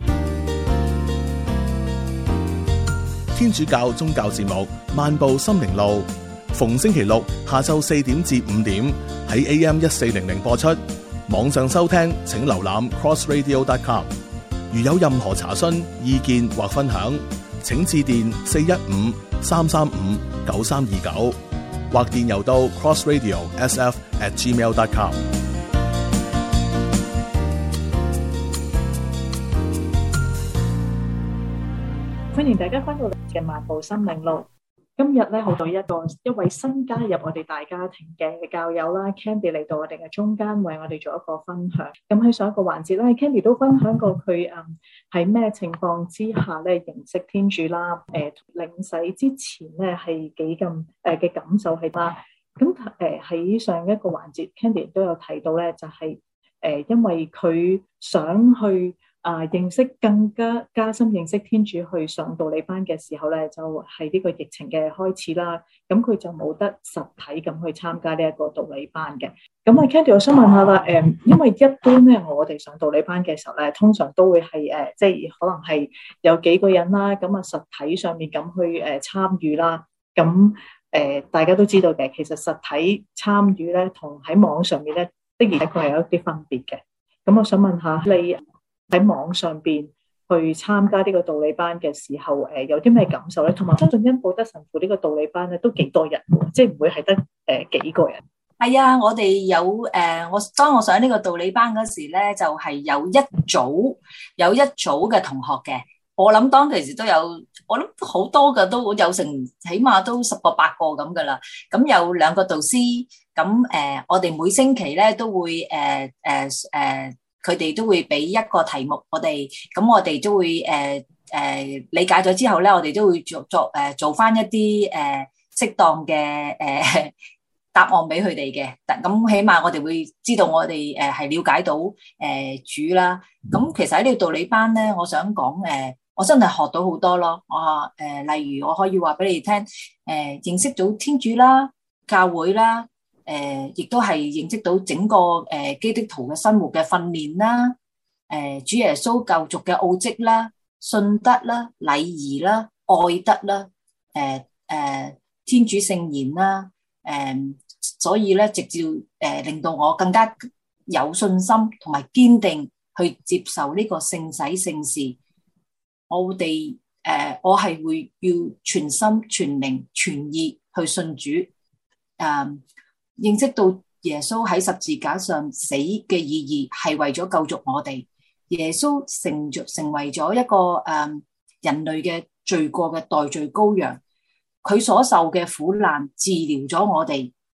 天主教宗教節目《漫步心靈路》，逢星期六下晝四點至五點喺 A M 一四零零播出。網上收聽請瀏覽 cross radio dot com。如有任何查詢、意見或分享，請致電四一五三三五九三二九，或電郵到 crossradio s f at gmail dot com。 歡迎大家翻到嚟嘅漫步心靈路。今日咧，好到一個一位新加入我哋大家庭嘅教友啦 ，Candy 嚟到我哋嘅中間，為我哋做一個分享。咁喺上一個環節咧，Candy 都分享過佢誒喺咩情況之下咧認識天主啦。誒、呃、領洗之前咧係幾咁誒嘅感受係啦。咁誒喺上一個環節 ，Candy 都有提到咧，就係、是、誒、呃、因為佢想去。啊！認識更加加深認識天主，去上道理班嘅時候咧，就係、是、呢個疫情嘅開始啦。咁佢就冇得實體咁去參加呢一個道理班嘅。咁啊，Candy，我想問下啦，誒，因為一般咧，我哋上道理班嘅時候咧，通常都會係誒，即係可能係有幾個人啦，咁啊，實體上面咁去誒參與啦。咁誒，大家都知道嘅，其實實體參與咧，同喺網上面咧，的而且確係有一啲分別嘅。咁我想問下你，喺網上邊去參加呢個道理班嘅時候，誒有啲咩感受咧？同埋相信恩保德神父呢個道理班咧都幾多人嘅，即係唔會係得誒幾個人。 係啊，我哋有誒、呃，我當我上呢個道理班嗰時咧，就係、是、有一組有一組嘅同學嘅。我諗當其時都有，我諗好多嘅都有成，起碼都十個八個咁噶啦。咁有兩個導師，咁誒、呃，我哋每星期咧都會誒誒誒。呃呃佢哋都會俾一個題目我哋，咁我哋都會誒誒、呃呃、理解咗之後咧，我哋都會做做誒做翻一啲誒適當嘅誒、呃、答案俾佢哋嘅。咁起碼我哋會知道我哋誒係了解到誒、呃、主啦。咁其實喺呢個道理班咧，我想講誒、呃，我真係學到好多咯。我誒、呃、例如我可以話俾你聽，誒、呃、認識到天主啦、教會啦。誒、呃，亦都係認識到整個誒、呃、基督徒嘅生活嘅訓練啦，誒、呃、主耶穌救贖嘅奧蹟啦、信德啦、禮儀啦、愛德啦，誒、呃、誒、呃、天主聖言啦，誒、呃、所以咧直接誒、呃、令到我更加有信心同埋堅定去接受呢個聖洗聖事。我哋誒、呃、我係會要全心全靈全意去信主，誒、呃。認識到耶穌喺十字架上死嘅意義係為咗救贖我哋，耶穌成咗成為咗一個誒、嗯、人類嘅罪過嘅代罪羔羊，佢所受嘅苦難治療咗我哋，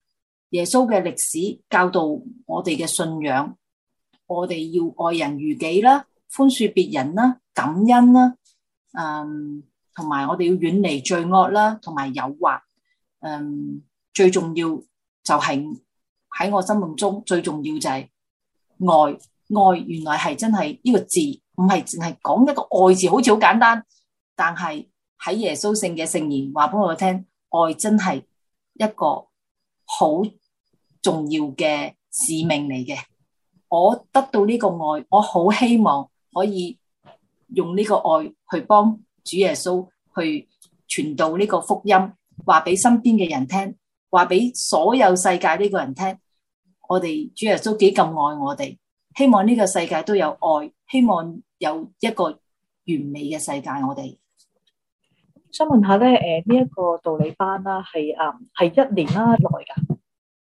耶穌嘅歷史教導我哋嘅信仰，我哋要愛人如己啦，寬恕別人啦，感恩啦，嗯，同埋我哋要遠離罪惡啦，同埋誘惑。嗯，最重要就係喺我心目中最重要就係愛。愛原來係真係呢個字，唔係淨係講一個愛字，好似好簡單，但係喺耶穌聖嘅聖言話俾我聽，愛真係一個好重要嘅使命嚟嘅。我得到呢個愛，我好希望可以用呢個愛去幫主耶穌去傳導呢個福音，話俾身邊嘅人聽，話俾所有世界呢個人聽，我哋主耶穌幾咁愛我哋，希望呢個世界都有愛，希望有一個完美嘅世界。我哋想問下咧，誒呢一個道理班啦，係誒係一年啦內噶？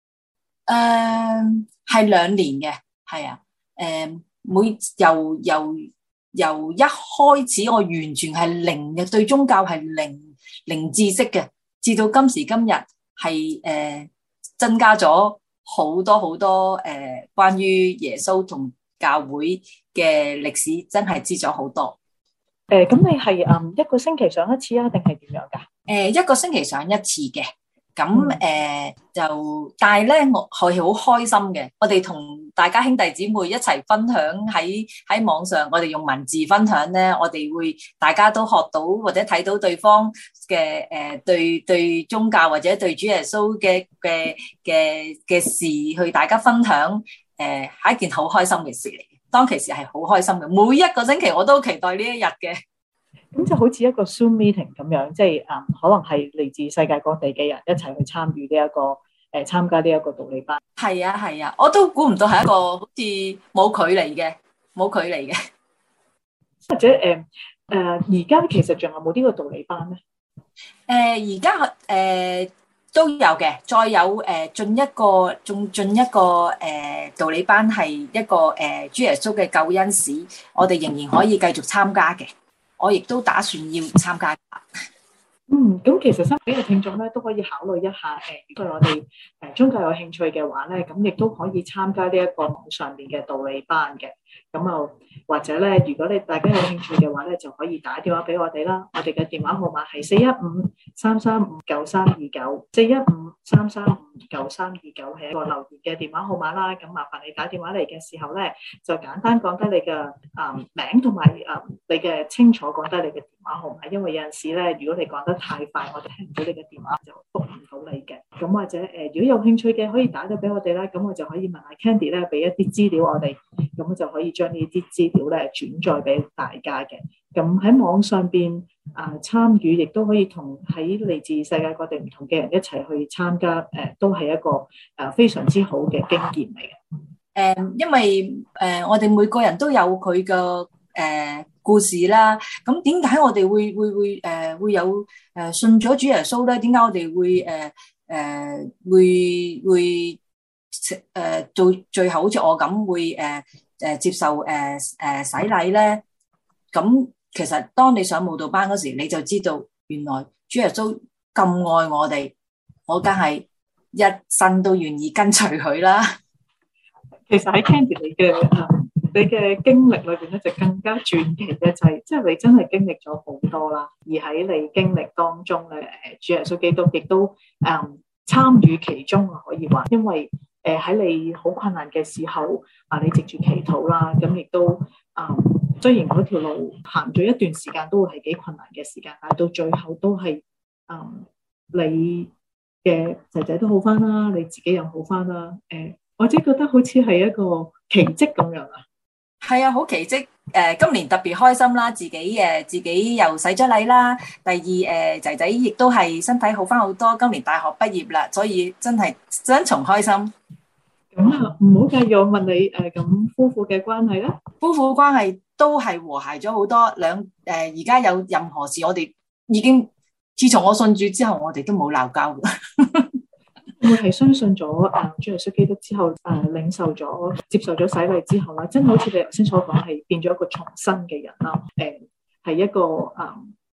誒係兩年嘅，係啊，誒、呃、每由由由一開始我完全係零嘅，對宗教係零零知識嘅，至到今時今日係誒、呃、增加咗好多好多誒、呃、關於耶穌同教會嘅歷史，真係知咗好多。 誒、呃，咁你係誒一個星期上一次啊，定係點樣噶？誒、 呃，一個星期上一次嘅。咁誒、呃、就，但係咧，我係好開心嘅。我哋同大家兄弟姊妹一齊分享喺喺網上，我哋用文字分享咧，我哋會大家都學到或者睇到對方嘅誒、呃、對對宗教或者對主耶穌嘅嘅嘅嘅事去大家分享，誒、呃、係一件好開心嘅事嚟。當其時係好開心嘅，每一個星期我都期待呢一日嘅。 咁就好似一個 Zoom meeting 咁樣，即係誒、嗯，可能係嚟自世界各地嘅人一齊去參與呢一個誒、呃、參加呢一個道理班。 係啊係啊，我都估唔到係一個好似冇距離嘅，冇距離嘅。 或者誒誒，而、呃、家其實仲有冇呢個道理班咧？ 誒而家誒都有嘅，再有誒進、呃、一個仲進一個誒、呃、道理班係一個誒、呃、主耶穌嘅救恩史，我哋仍然可以繼續參加嘅。我亦都打算要參加。 嗯，咁其實身邊嘅聽眾咧都可以考慮一下，誒、呃，如果我哋誒宗教有興趣嘅話咧，咁亦都可以參加呢一個網上面嘅道理班嘅。咁啊，或者咧，如果你大家有興趣嘅話咧，就可以打電話俾我哋啦。我哋嘅電話號碼係四一五三三五九三二九，四一五三三五九三二九係一個留言嘅電話號碼啦。咁麻煩你打電話嚟嘅時候咧，就簡單講低你嘅啊、嗯、名同埋啊你嘅清楚講低你嘅電話號碼，因為有陣時咧，如果你講得太快，我哋聽唔到你嘅電話就覆唔到你嘅。咁或者誒、呃，如果有興趣嘅，可以打到俾我哋啦。咁我就可以問下 Candy 咧，俾一啲資料我哋，咁就可以將呢啲資料咧轉載俾大家嘅。咁喺網上邊啊參與，亦都可以同喺嚟自世界各地唔同嘅人一齊去參加，誒、呃、都係一個誒、呃、非常之好嘅經驗嚟嘅。誒、 呃，因為誒、呃、我哋每個人都有佢嘅誒故事啦。咁點解我哋會會會誒、呃、會有誒、呃、信咗主耶穌咧？點解我哋會誒誒、呃呃、會會誒、呃、到最後好似我咁會誒誒、呃、接受誒誒、呃、洗禮咧？咁其實當你上慕道班嗰時，你就知道原來主耶穌咁愛我哋，我梗係一生都願意跟隨佢啦。 其實喺 Candy 你嘅誒你嘅經歷裏邊咧，就更加傳奇嘅就係，即係你真係經歷咗好多啦。而喺你經歷當中咧，誒主耶穌基督亦都誒參與其中啊，可以話，因為誒喺你好困難嘅時候啊，你藉住祈禱啦，咁亦都誒。雖然嗰條路行咗一段時間都會係幾困難嘅時間，但係到最後都係，嗯，你嘅仔仔都好翻啦，你自己又好翻啦，誒、呃，我只覺得好似係一個奇蹟咁樣啊！ 係啊，好奇蹟！誒、呃，今年特別開心啦，自己誒自己又洗咗禮啦。第二誒仔仔亦都係身體好翻好多，今年大學畢業啦，所以真係雙重開心。 咁啊，唔好介意我問你誒，咁、呃、夫婦嘅關係咧？夫婦關係都係和諧咗好多，兩誒而家有任何事，我哋已經自從我信主之後，我哋都冇鬧交嘅。 會係相信咗誒主耶穌基督之後，誒、呃、領受咗、接受咗洗禮之後啦，真係好似你頭先所講，係變咗一個重生嘅人啦。誒、呃、係一個誒、呃、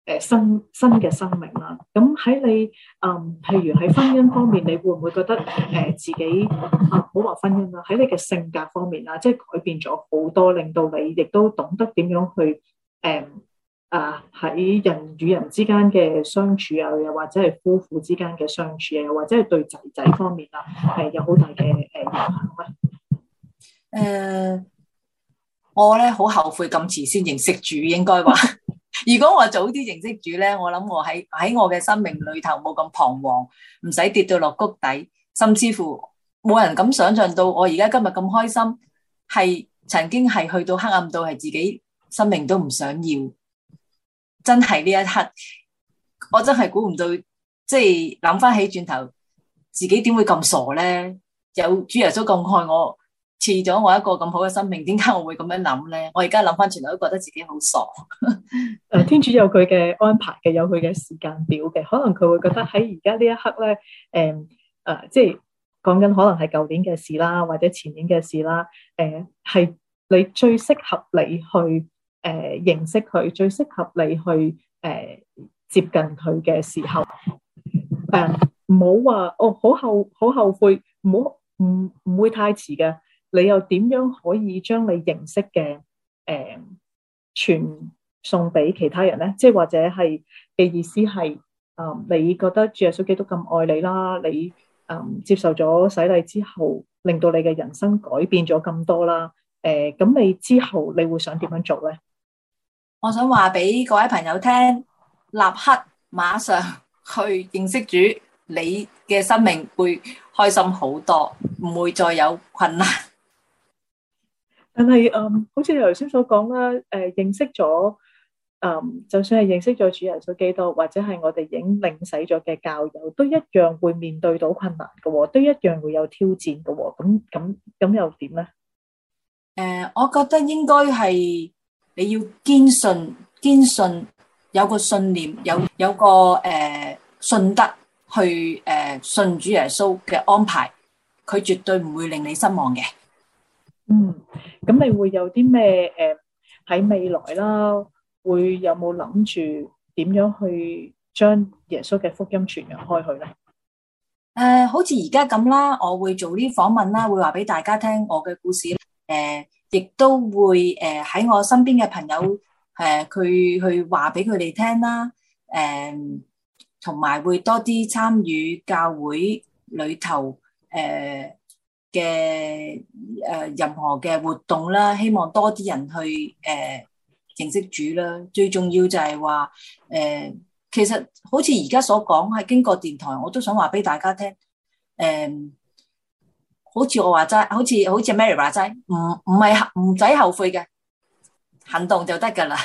誒新新嘅生命啦。咁喺你誒、嗯，譬如喺婚姻方面，你會唔會覺得誒、呃、自己啊，唔好話婚姻啦，喺你嘅性格方面啊，即係改變咗好多，令到你亦都懂得點樣去誒啊喺人與人之間嘅相處啊，又或者係夫婦之間嘅相處啊，又或者係對仔仔方面啊，係有好大嘅誒影響咧。 誒、呃，我咧好後悔咁遲先認識主，應該話。如果我早啲認識主咧，我諗我喺喺我嘅生命裏頭冇咁彷徨，唔使跌到落谷底，甚至乎冇人咁想象到我而家今日咁開心，係曾經係去到黑暗到係自己生命都唔想要，真係呢一刻，我真係估唔到，即係諗翻起轉頭，自己點會咁傻咧？有主耶穌咁愛我，賜咗我一個咁好嘅生命，點解我會咁樣諗咧？我而家諗翻轉頭都覺得自己好傻。 誒，天主有佢嘅安排嘅，有佢嘅時間表嘅，可能佢會覺得喺而家呢一刻咧，誒、呃、誒、呃，即係講緊可能係舊年嘅事啦，或者前年嘅事啦，誒、呃，係你最適合你去誒、呃、認識佢，最適合你去誒、呃、接近佢嘅時候，誒唔好話哦，好後好後悔，唔好唔唔會太遲嘅。你又點樣可以將你認識嘅誒傳送俾其他人咧？即係或者係嘅意思係，嗯，你覺得主耶穌基督咁愛你啦，你嗯接受咗洗禮之後，令到你嘅人生改變咗咁多啦。誒、呃，咁你之後你會想點樣做咧？ 我想話俾各位朋友聽，立刻馬上去認識主，你嘅生命會開心好多，唔會再有困難。 但係，嗯，好似你頭先所講啦，誒、呃，認識咗，嗯，就算係認識咗主耶穌基督，或者係我哋已經領洗咗嘅教友，都一樣會面對到困難嘅，都一樣會有挑戰嘅，咁咁咁又點咧？誒、 呃，我覺得應該係你要堅信，堅信有個信念，有有個誒、呃、信德去誒、呃、信主耶穌嘅安排，佢絕對唔會令你失望嘅。嗯。 咁你會有啲咩誒喺未來啦？會有冇諗住點樣去將耶穌嘅福音傳揚開去咧？誒、 呃，好似而家咁啦，我會做啲訪問啦，會話俾大家聽我嘅故事。誒、呃，亦都會誒喺、呃、我身邊嘅朋友誒，佢、呃、去話俾佢哋聽啦。誒、呃，同埋會多啲參與教會裏頭誒。呃嘅誒任何嘅活動啦，希望多啲人去誒、呃、認識主啦。最重要就係話誒，其實好似而家所講，係經過電台，我都想話俾大家聽。誒、呃，好似我話齋，好似好似 Mary 話齋，唔唔係唔使後悔嘅，行動就得噶啦。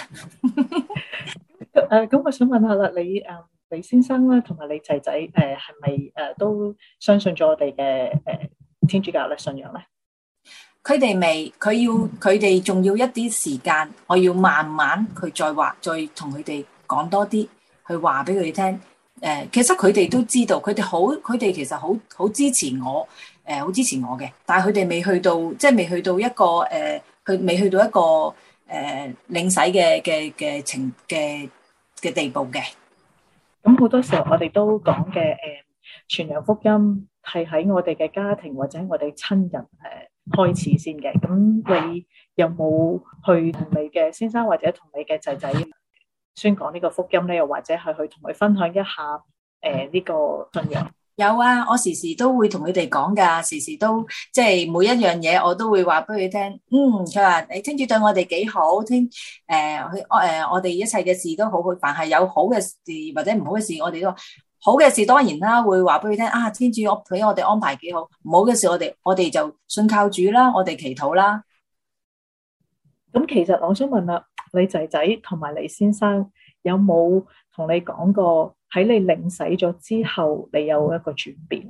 誒，咁我想問下啦，你誒李先生啦，同埋你仔仔誒，係咪誒都相信咗我哋嘅誒？呃天主教嘅信仰咧， 佢哋未，佢要佢哋仲要一啲時間，我要慢慢佢再話，再同佢哋講多啲，去話俾佢哋聽。誒、呃，其實佢哋都知道，佢哋好，佢哋其實好好支持我，誒、呃，好支持我嘅。但係佢哋未去到，即係未去到一個誒，佢、呃、未去到一個誒、呃、領洗嘅嘅嘅情嘅嘅地步嘅。 咁好多時候我哋都講嘅誒傳揚福音。係喺我哋嘅家庭或者我哋親人誒開始先嘅，咁你有冇去同你嘅先生或者同你嘅仔仔宣講呢個福音咧？又或者係去同佢分享一下誒呢、呃這個信仰？ 有啊，我時時都會同佢哋講噶，時時都即係每一樣嘢我都會話俾佢聽。嗯，佢話你天主對我哋幾好，聽誒佢誒我哋一切嘅事都好好，凡係有好嘅事或者唔好嘅事，我哋都。好嘅事當然啦，會話俾佢聽啊！天主我俾我哋安排幾好，唔好嘅事我哋我哋就信靠主啦，我哋祈禱啦。 咁其實我想問啦，你仔仔同埋你先生有冇同你講過喺你領洗咗之後，你有一個轉變啊？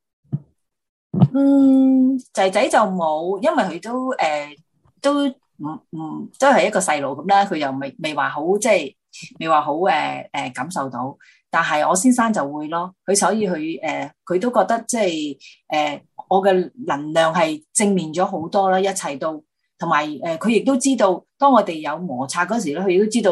嗯，仔仔就冇，因為佢都誒、呃、都唔唔都係一個細路咁啦，佢又未未話好即係未話好誒誒感受到。但係我先生就會咯，佢所以佢誒佢都覺得即係誒我嘅能量係正面咗好多啦，一切都同埋誒佢亦都知道，當我哋有摩擦嗰時咧，佢亦都知道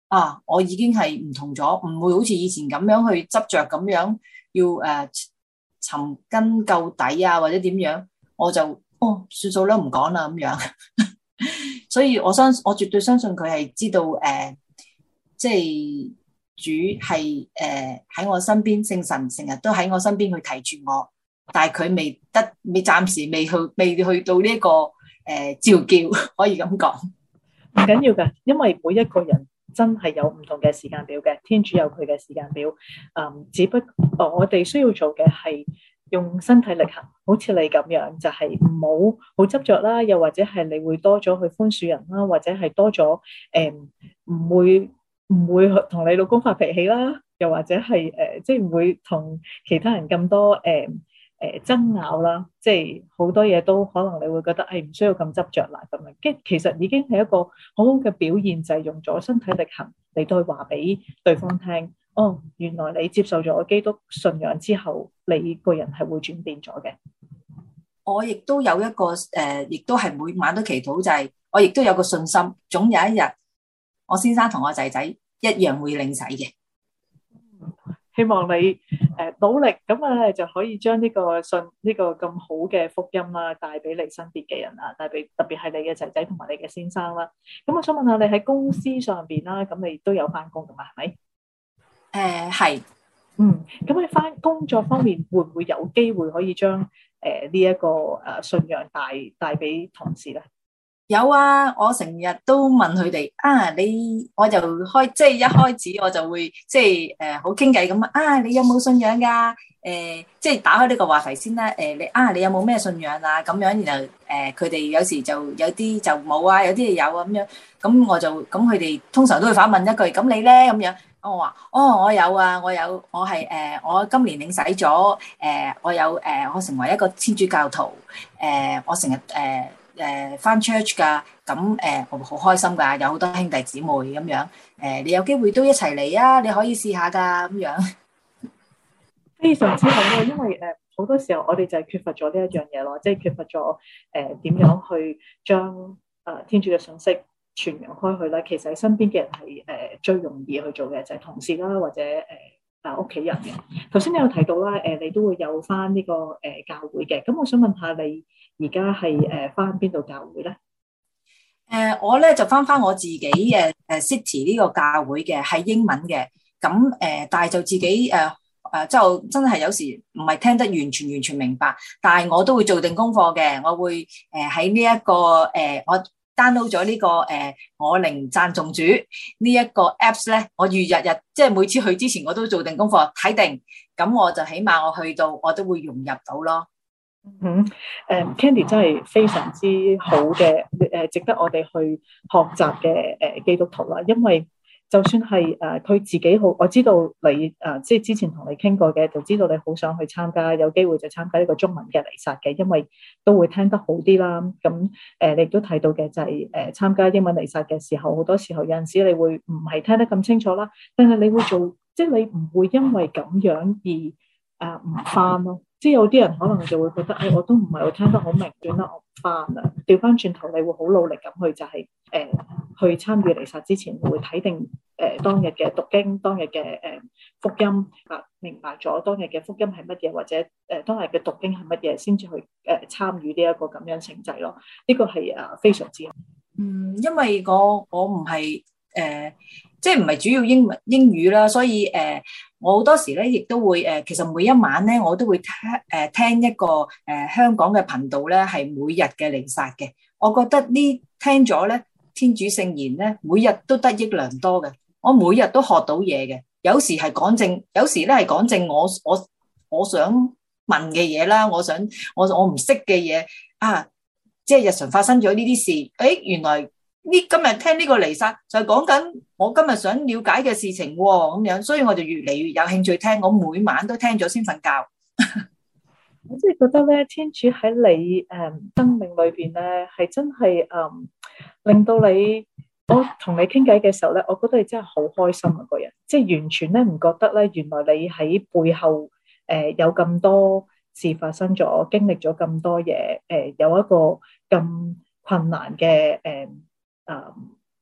啊，我已經係唔同咗，唔會好似以前咁樣去執着咁樣要誒、呃、尋根究底啊，或者點樣，我就哦算數啦，唔講啦咁樣。所以我相我絕對相信佢係知道誒、呃，即係主係誒喺我身邊，聖神成日都喺我身邊去提住我，但係佢未得，未暫時未去，未去到呢、這、一個誒、呃、召叫，可以咁講。 唔緊要㗎，因為每一個人真係有唔同嘅時間表嘅，天主有佢嘅時間表。嗯，只不過我哋需要做嘅係用身體力行，好似你咁樣，就係唔好好執着啦，又或者係你會多咗去寬恕人啦，或者係多咗誒唔會唔會同你老公發脾氣啦，又或者係誒、呃、即係唔會同其他人咁多誒。呃誒爭拗啦，即係好多嘢都可能你會覺得誒唔需要咁執着啦咁樣，跟其實已經係一個好好嘅表現，就係用咗身體力行嚟到去話俾對方聽，哦，原來你接受咗基督信仰之後，你個人係會轉變咗嘅。 我亦都有一個誒，亦都係每晚都祈禱，就係我亦都有個信心，總有一日我先生同我仔仔一樣會領洗嘅。 希望你誒努力咁啊，就可以將呢個信呢個咁好嘅福音啦，帶俾你身邊嘅人啊，帶俾特別係你嘅仔仔同埋你嘅先生啦。咁我想問下你喺公司上邊啦，咁你都有翻工噶嘛？係咪？ 誒係， 嗯，咁你翻工作方面會唔會有機會可以將誒呢一個誒信仰帶帶俾同事咧？ 有啊，我成日都問佢哋啊，你我就開即係一開始我就會即係誒好傾偈咁啊，你有冇信仰㗎？誒、呃、即係打開呢個話題先啦。誒、呃、你啊，你有冇咩信仰啊？咁樣然後誒佢哋有時就有啲就冇啊，有啲係有啊咁樣。咁我就咁佢哋通常都會反問一句：咁你咧？咁樣我話：哦，我有啊，我有，我係誒、呃、我今年領洗咗誒、呃，我有誒、呃、我成為一個天主教徒誒、呃，我成日誒。呃誒翻 church 㗎，咁誒我好開心㗎，有好多兄弟姊妹咁樣，誒你有機會都一齊嚟啊，你可以試下㗎咁樣。 非常之好咯，因為誒好多時候我哋就係缺乏咗呢一樣嘢咯，即係缺乏咗誒點樣去將誒天主嘅信息傳揚開去啦。其實身邊嘅人係誒最容易去做嘅就係同事啦，或者誒啊屋企人嘅。頭先你有提到啦，誒你都會有翻呢個誒教會嘅，咁我想問下你。而家係誒翻邊度教會咧？ 誒、呃、我咧就翻翻我自己誒誒 City 呢個教會嘅，係英文嘅。咁誒、呃，但係就自己誒誒、呃，就真係有時唔係聽得完全完全明白。但係我都會做定功課嘅，我會誒喺呢一個誒、呃，我 download 咗呢、這個誒、呃，我靈讚頌主呢一個 apps 咧，我預日日即係每次去之前我都做定功課睇定，咁我就起碼我去到我都會融入到咯。 嗯，誒 Candy 真係非常之好嘅，誒值得我哋去學習嘅誒基督徒啦。因為就算係誒佢自己好，我知道你誒即係之前同你傾過嘅，就知道你好想去參加，有機會就參加呢個中文嘅彌撒嘅，因為都會聽得好啲啦。咁誒你亦都睇到嘅就係誒參加英文彌撒嘅時候，好多時候有陣時你會唔係聽得咁清楚啦，但係你會做，即係你唔會因為咁樣而誒唔翻咯。即係有啲人可能就會覺得，誒、哎，我都唔係我聽得好明，算啦，我唔翻啦。調翻轉頭，你會好努力咁去，就係、是、誒、呃、去參與彌撒之前，會睇定誒、呃、當日嘅讀經，當日嘅誒、呃、福音，啊，明白咗當日嘅福音係乜嘢，或者誒、呃、當日嘅讀經係乜嘢，先至去誒、呃、參與呢一個咁樣成績咯。呢、這個係誒非常之好。嗯， 因為我我唔係誒，即係唔係主要英文英語啦，所以誒。呃我好多時咧，亦都會誒，其實每一晚咧，我都會聽誒聽一個誒、呃、香港嘅頻道咧，係每日嘅彌撒嘅。我覺得呢聽咗咧，天主聖言咧，每日都得益良多嘅。我每日都學到嘢嘅。有時係講正，有時咧係講正我我我想問嘅嘢啦，我想我我唔識嘅嘢啊，即係日常發生咗呢啲事，誒原來。呢今日聽呢個彌撒就係講緊我今日想了解嘅事情喎，咁樣，所以我就越嚟越有興趣聽。我每晚都聽咗先瞓覺。 我真係覺得咧，天主喺你誒、嗯、生命裏邊咧，係真係誒、嗯、令到你，我同你傾偈嘅時候咧，我覺得你真係好開心啊！個人即係完全咧唔覺得咧，原來你喺背後誒、呃、有咁多事發生咗，經歷咗咁多嘢，誒、呃、有一個咁困難嘅誒。呃誒、嗯，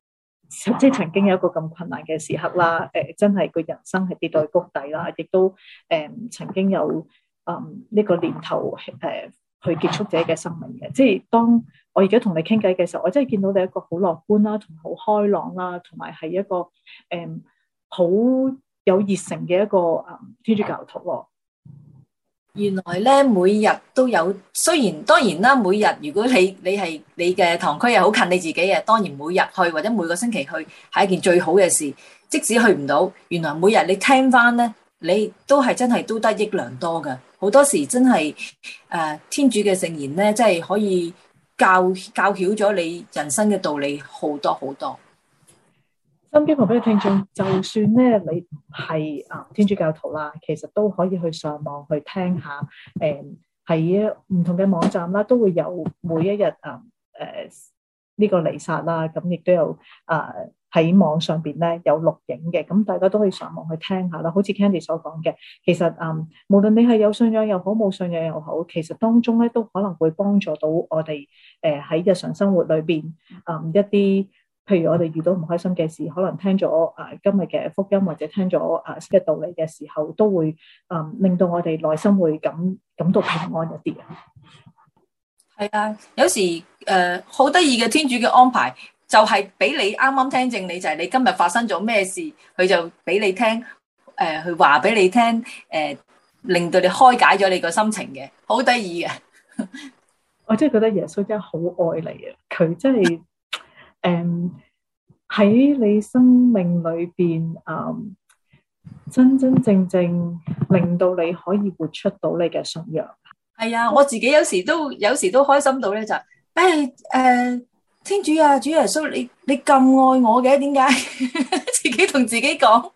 即係曾經有一個咁困難嘅時刻啦，誒、呃、真係個人生係跌到去谷底啦，亦都誒、呃、曾經有誒呢、嗯這個念頭誒、呃、去結束自己嘅生命嘅。即係當我而家同你傾偈嘅時候，我真係見到你一個好樂觀啦，同好開朗啦，同埋係一個誒好、呃、有熱誠嘅一個誒、嗯、天主教徒喎。 原來咧每日都有，雖然當然啦，每日如果你你係你嘅堂區係好近你自己嘅，當然每日去或者每個星期去係一件最好嘅事。即使去唔到，原來每日你聽翻咧，你都係真係都得益良多嘅。好多時真係誒、呃、天主嘅聖言咧，真係可以教教曉咗你人生嘅道理好多好多。 心機旁邊嘅聽眾，就算咧你唔係啊天主教徒啦，其實都可以去上網去聽下，誒喺唔同嘅網站啦，都會有每一日啊誒呢個彌撒啦，咁亦都有啊喺網上邊咧有錄影嘅，咁大家都可以上網去聽下啦。好似 Candy 所講嘅，其實啊、嗯、無論你係有信仰又好，冇信仰又好，其實當中咧都可能會幫助到我哋誒喺日常生活裏邊啊、嗯、一啲。譬如我哋遇到唔開心嘅事，可能聽咗誒、呃、今日嘅福音，或者聽咗誒嘅道理嘅時候，都會誒、呃、令到我哋內心會感感到平安一啲啊。 係啊，有時誒好得意嘅天主嘅安排，就係、是、俾你啱啱聽正你，就係、是、你今日發生咗咩事，佢就俾你聽，誒、呃、去話俾你聽，誒、呃、令到你開解咗你個心情嘅，好得意嘅。 我真係覺得耶穌真係好愛你啊！佢真係。誒，喺、um, 你生命裏邊，誒、um, 真真正正令到你可以活出到你嘅信仰。 係啊，我自己有時都有時都開心到咧，就誒、誒、呃，天主啊，主耶穌，你你咁愛我嘅，點解自己同自己講？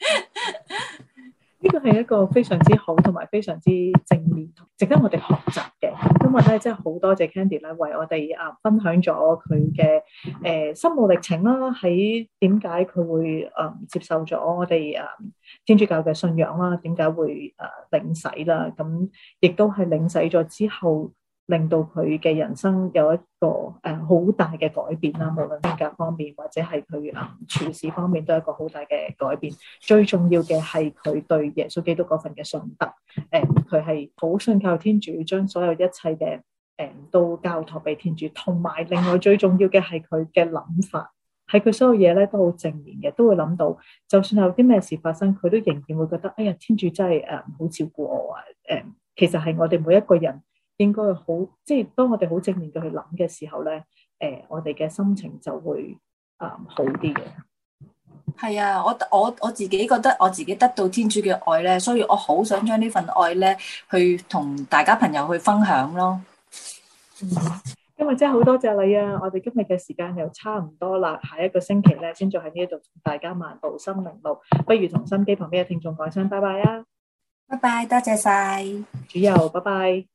呢個係一個非常之好同埋非常之正面，值得我哋學習嘅。今日咧，真係好多謝 Candy 咧，為我哋啊分享咗佢嘅誒心路歷程啦。喺點解佢會誒、呃、接受咗我哋誒、呃、天主教嘅信仰啦？點解會誒、呃、領洗啦？咁亦都係領洗咗之後，令到佢嘅人生有一個誒好、呃、大嘅改變啦。無論性格方面或者係佢誒處事方面，都係一個好大嘅改變。最重要嘅係佢對耶穌基督嗰份嘅信德，誒佢係好信靠天主，將所有一切嘅誒、呃、都交託俾天主。同埋另外最重要嘅係佢嘅諗法，係佢所有嘢咧都好正面嘅，都會諗到，就算有啲咩事發生，佢都仍然會覺得，哎呀，天主真係誒好照顧我啊！誒、呃，其實係我哋每一個人。應該好，即係當我哋好正面嘅去諗嘅時候咧，誒、呃，我哋嘅心情就會啊、呃、好啲嘅。 係啊，我我我自己覺得我自己得到天主嘅愛咧，所以我好想將呢份愛咧去同大家朋友去分享咯。 嗯，今日真係好多謝你啊！我哋今日嘅時間又差唔多啦，下一個星期咧先再喺呢度同大家漫步心靈路，不如同心機旁邊嘅聽眾講聲拜拜啊！ 拜拜，多謝晒， 主佑，拜拜。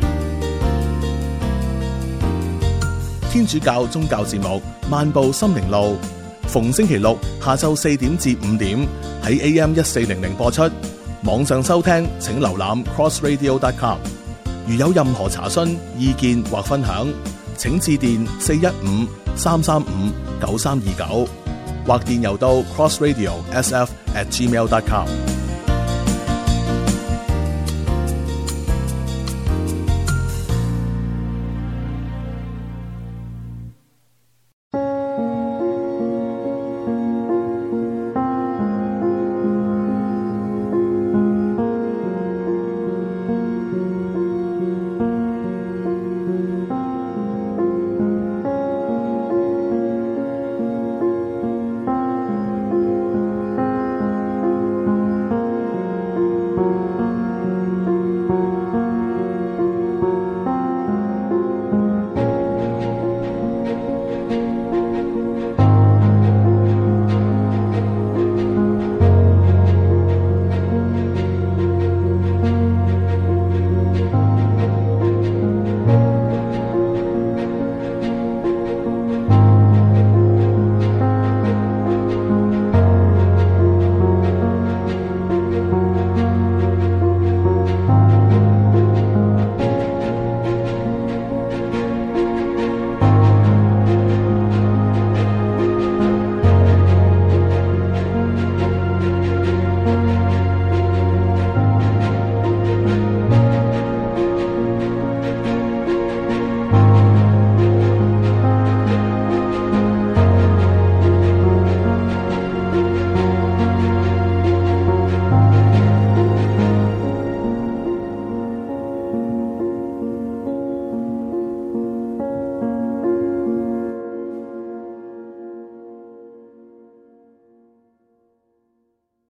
天主教宗教節目《漫步心靈路》，逢星期六下晝四點至五點喺 A M 一四零零播出。網上收聽請瀏覽 cross radio dot com。如有任何查詢、意見或分享，請致電四一五三三五九三二九，或電郵到 crossradio s f at gmail dot com。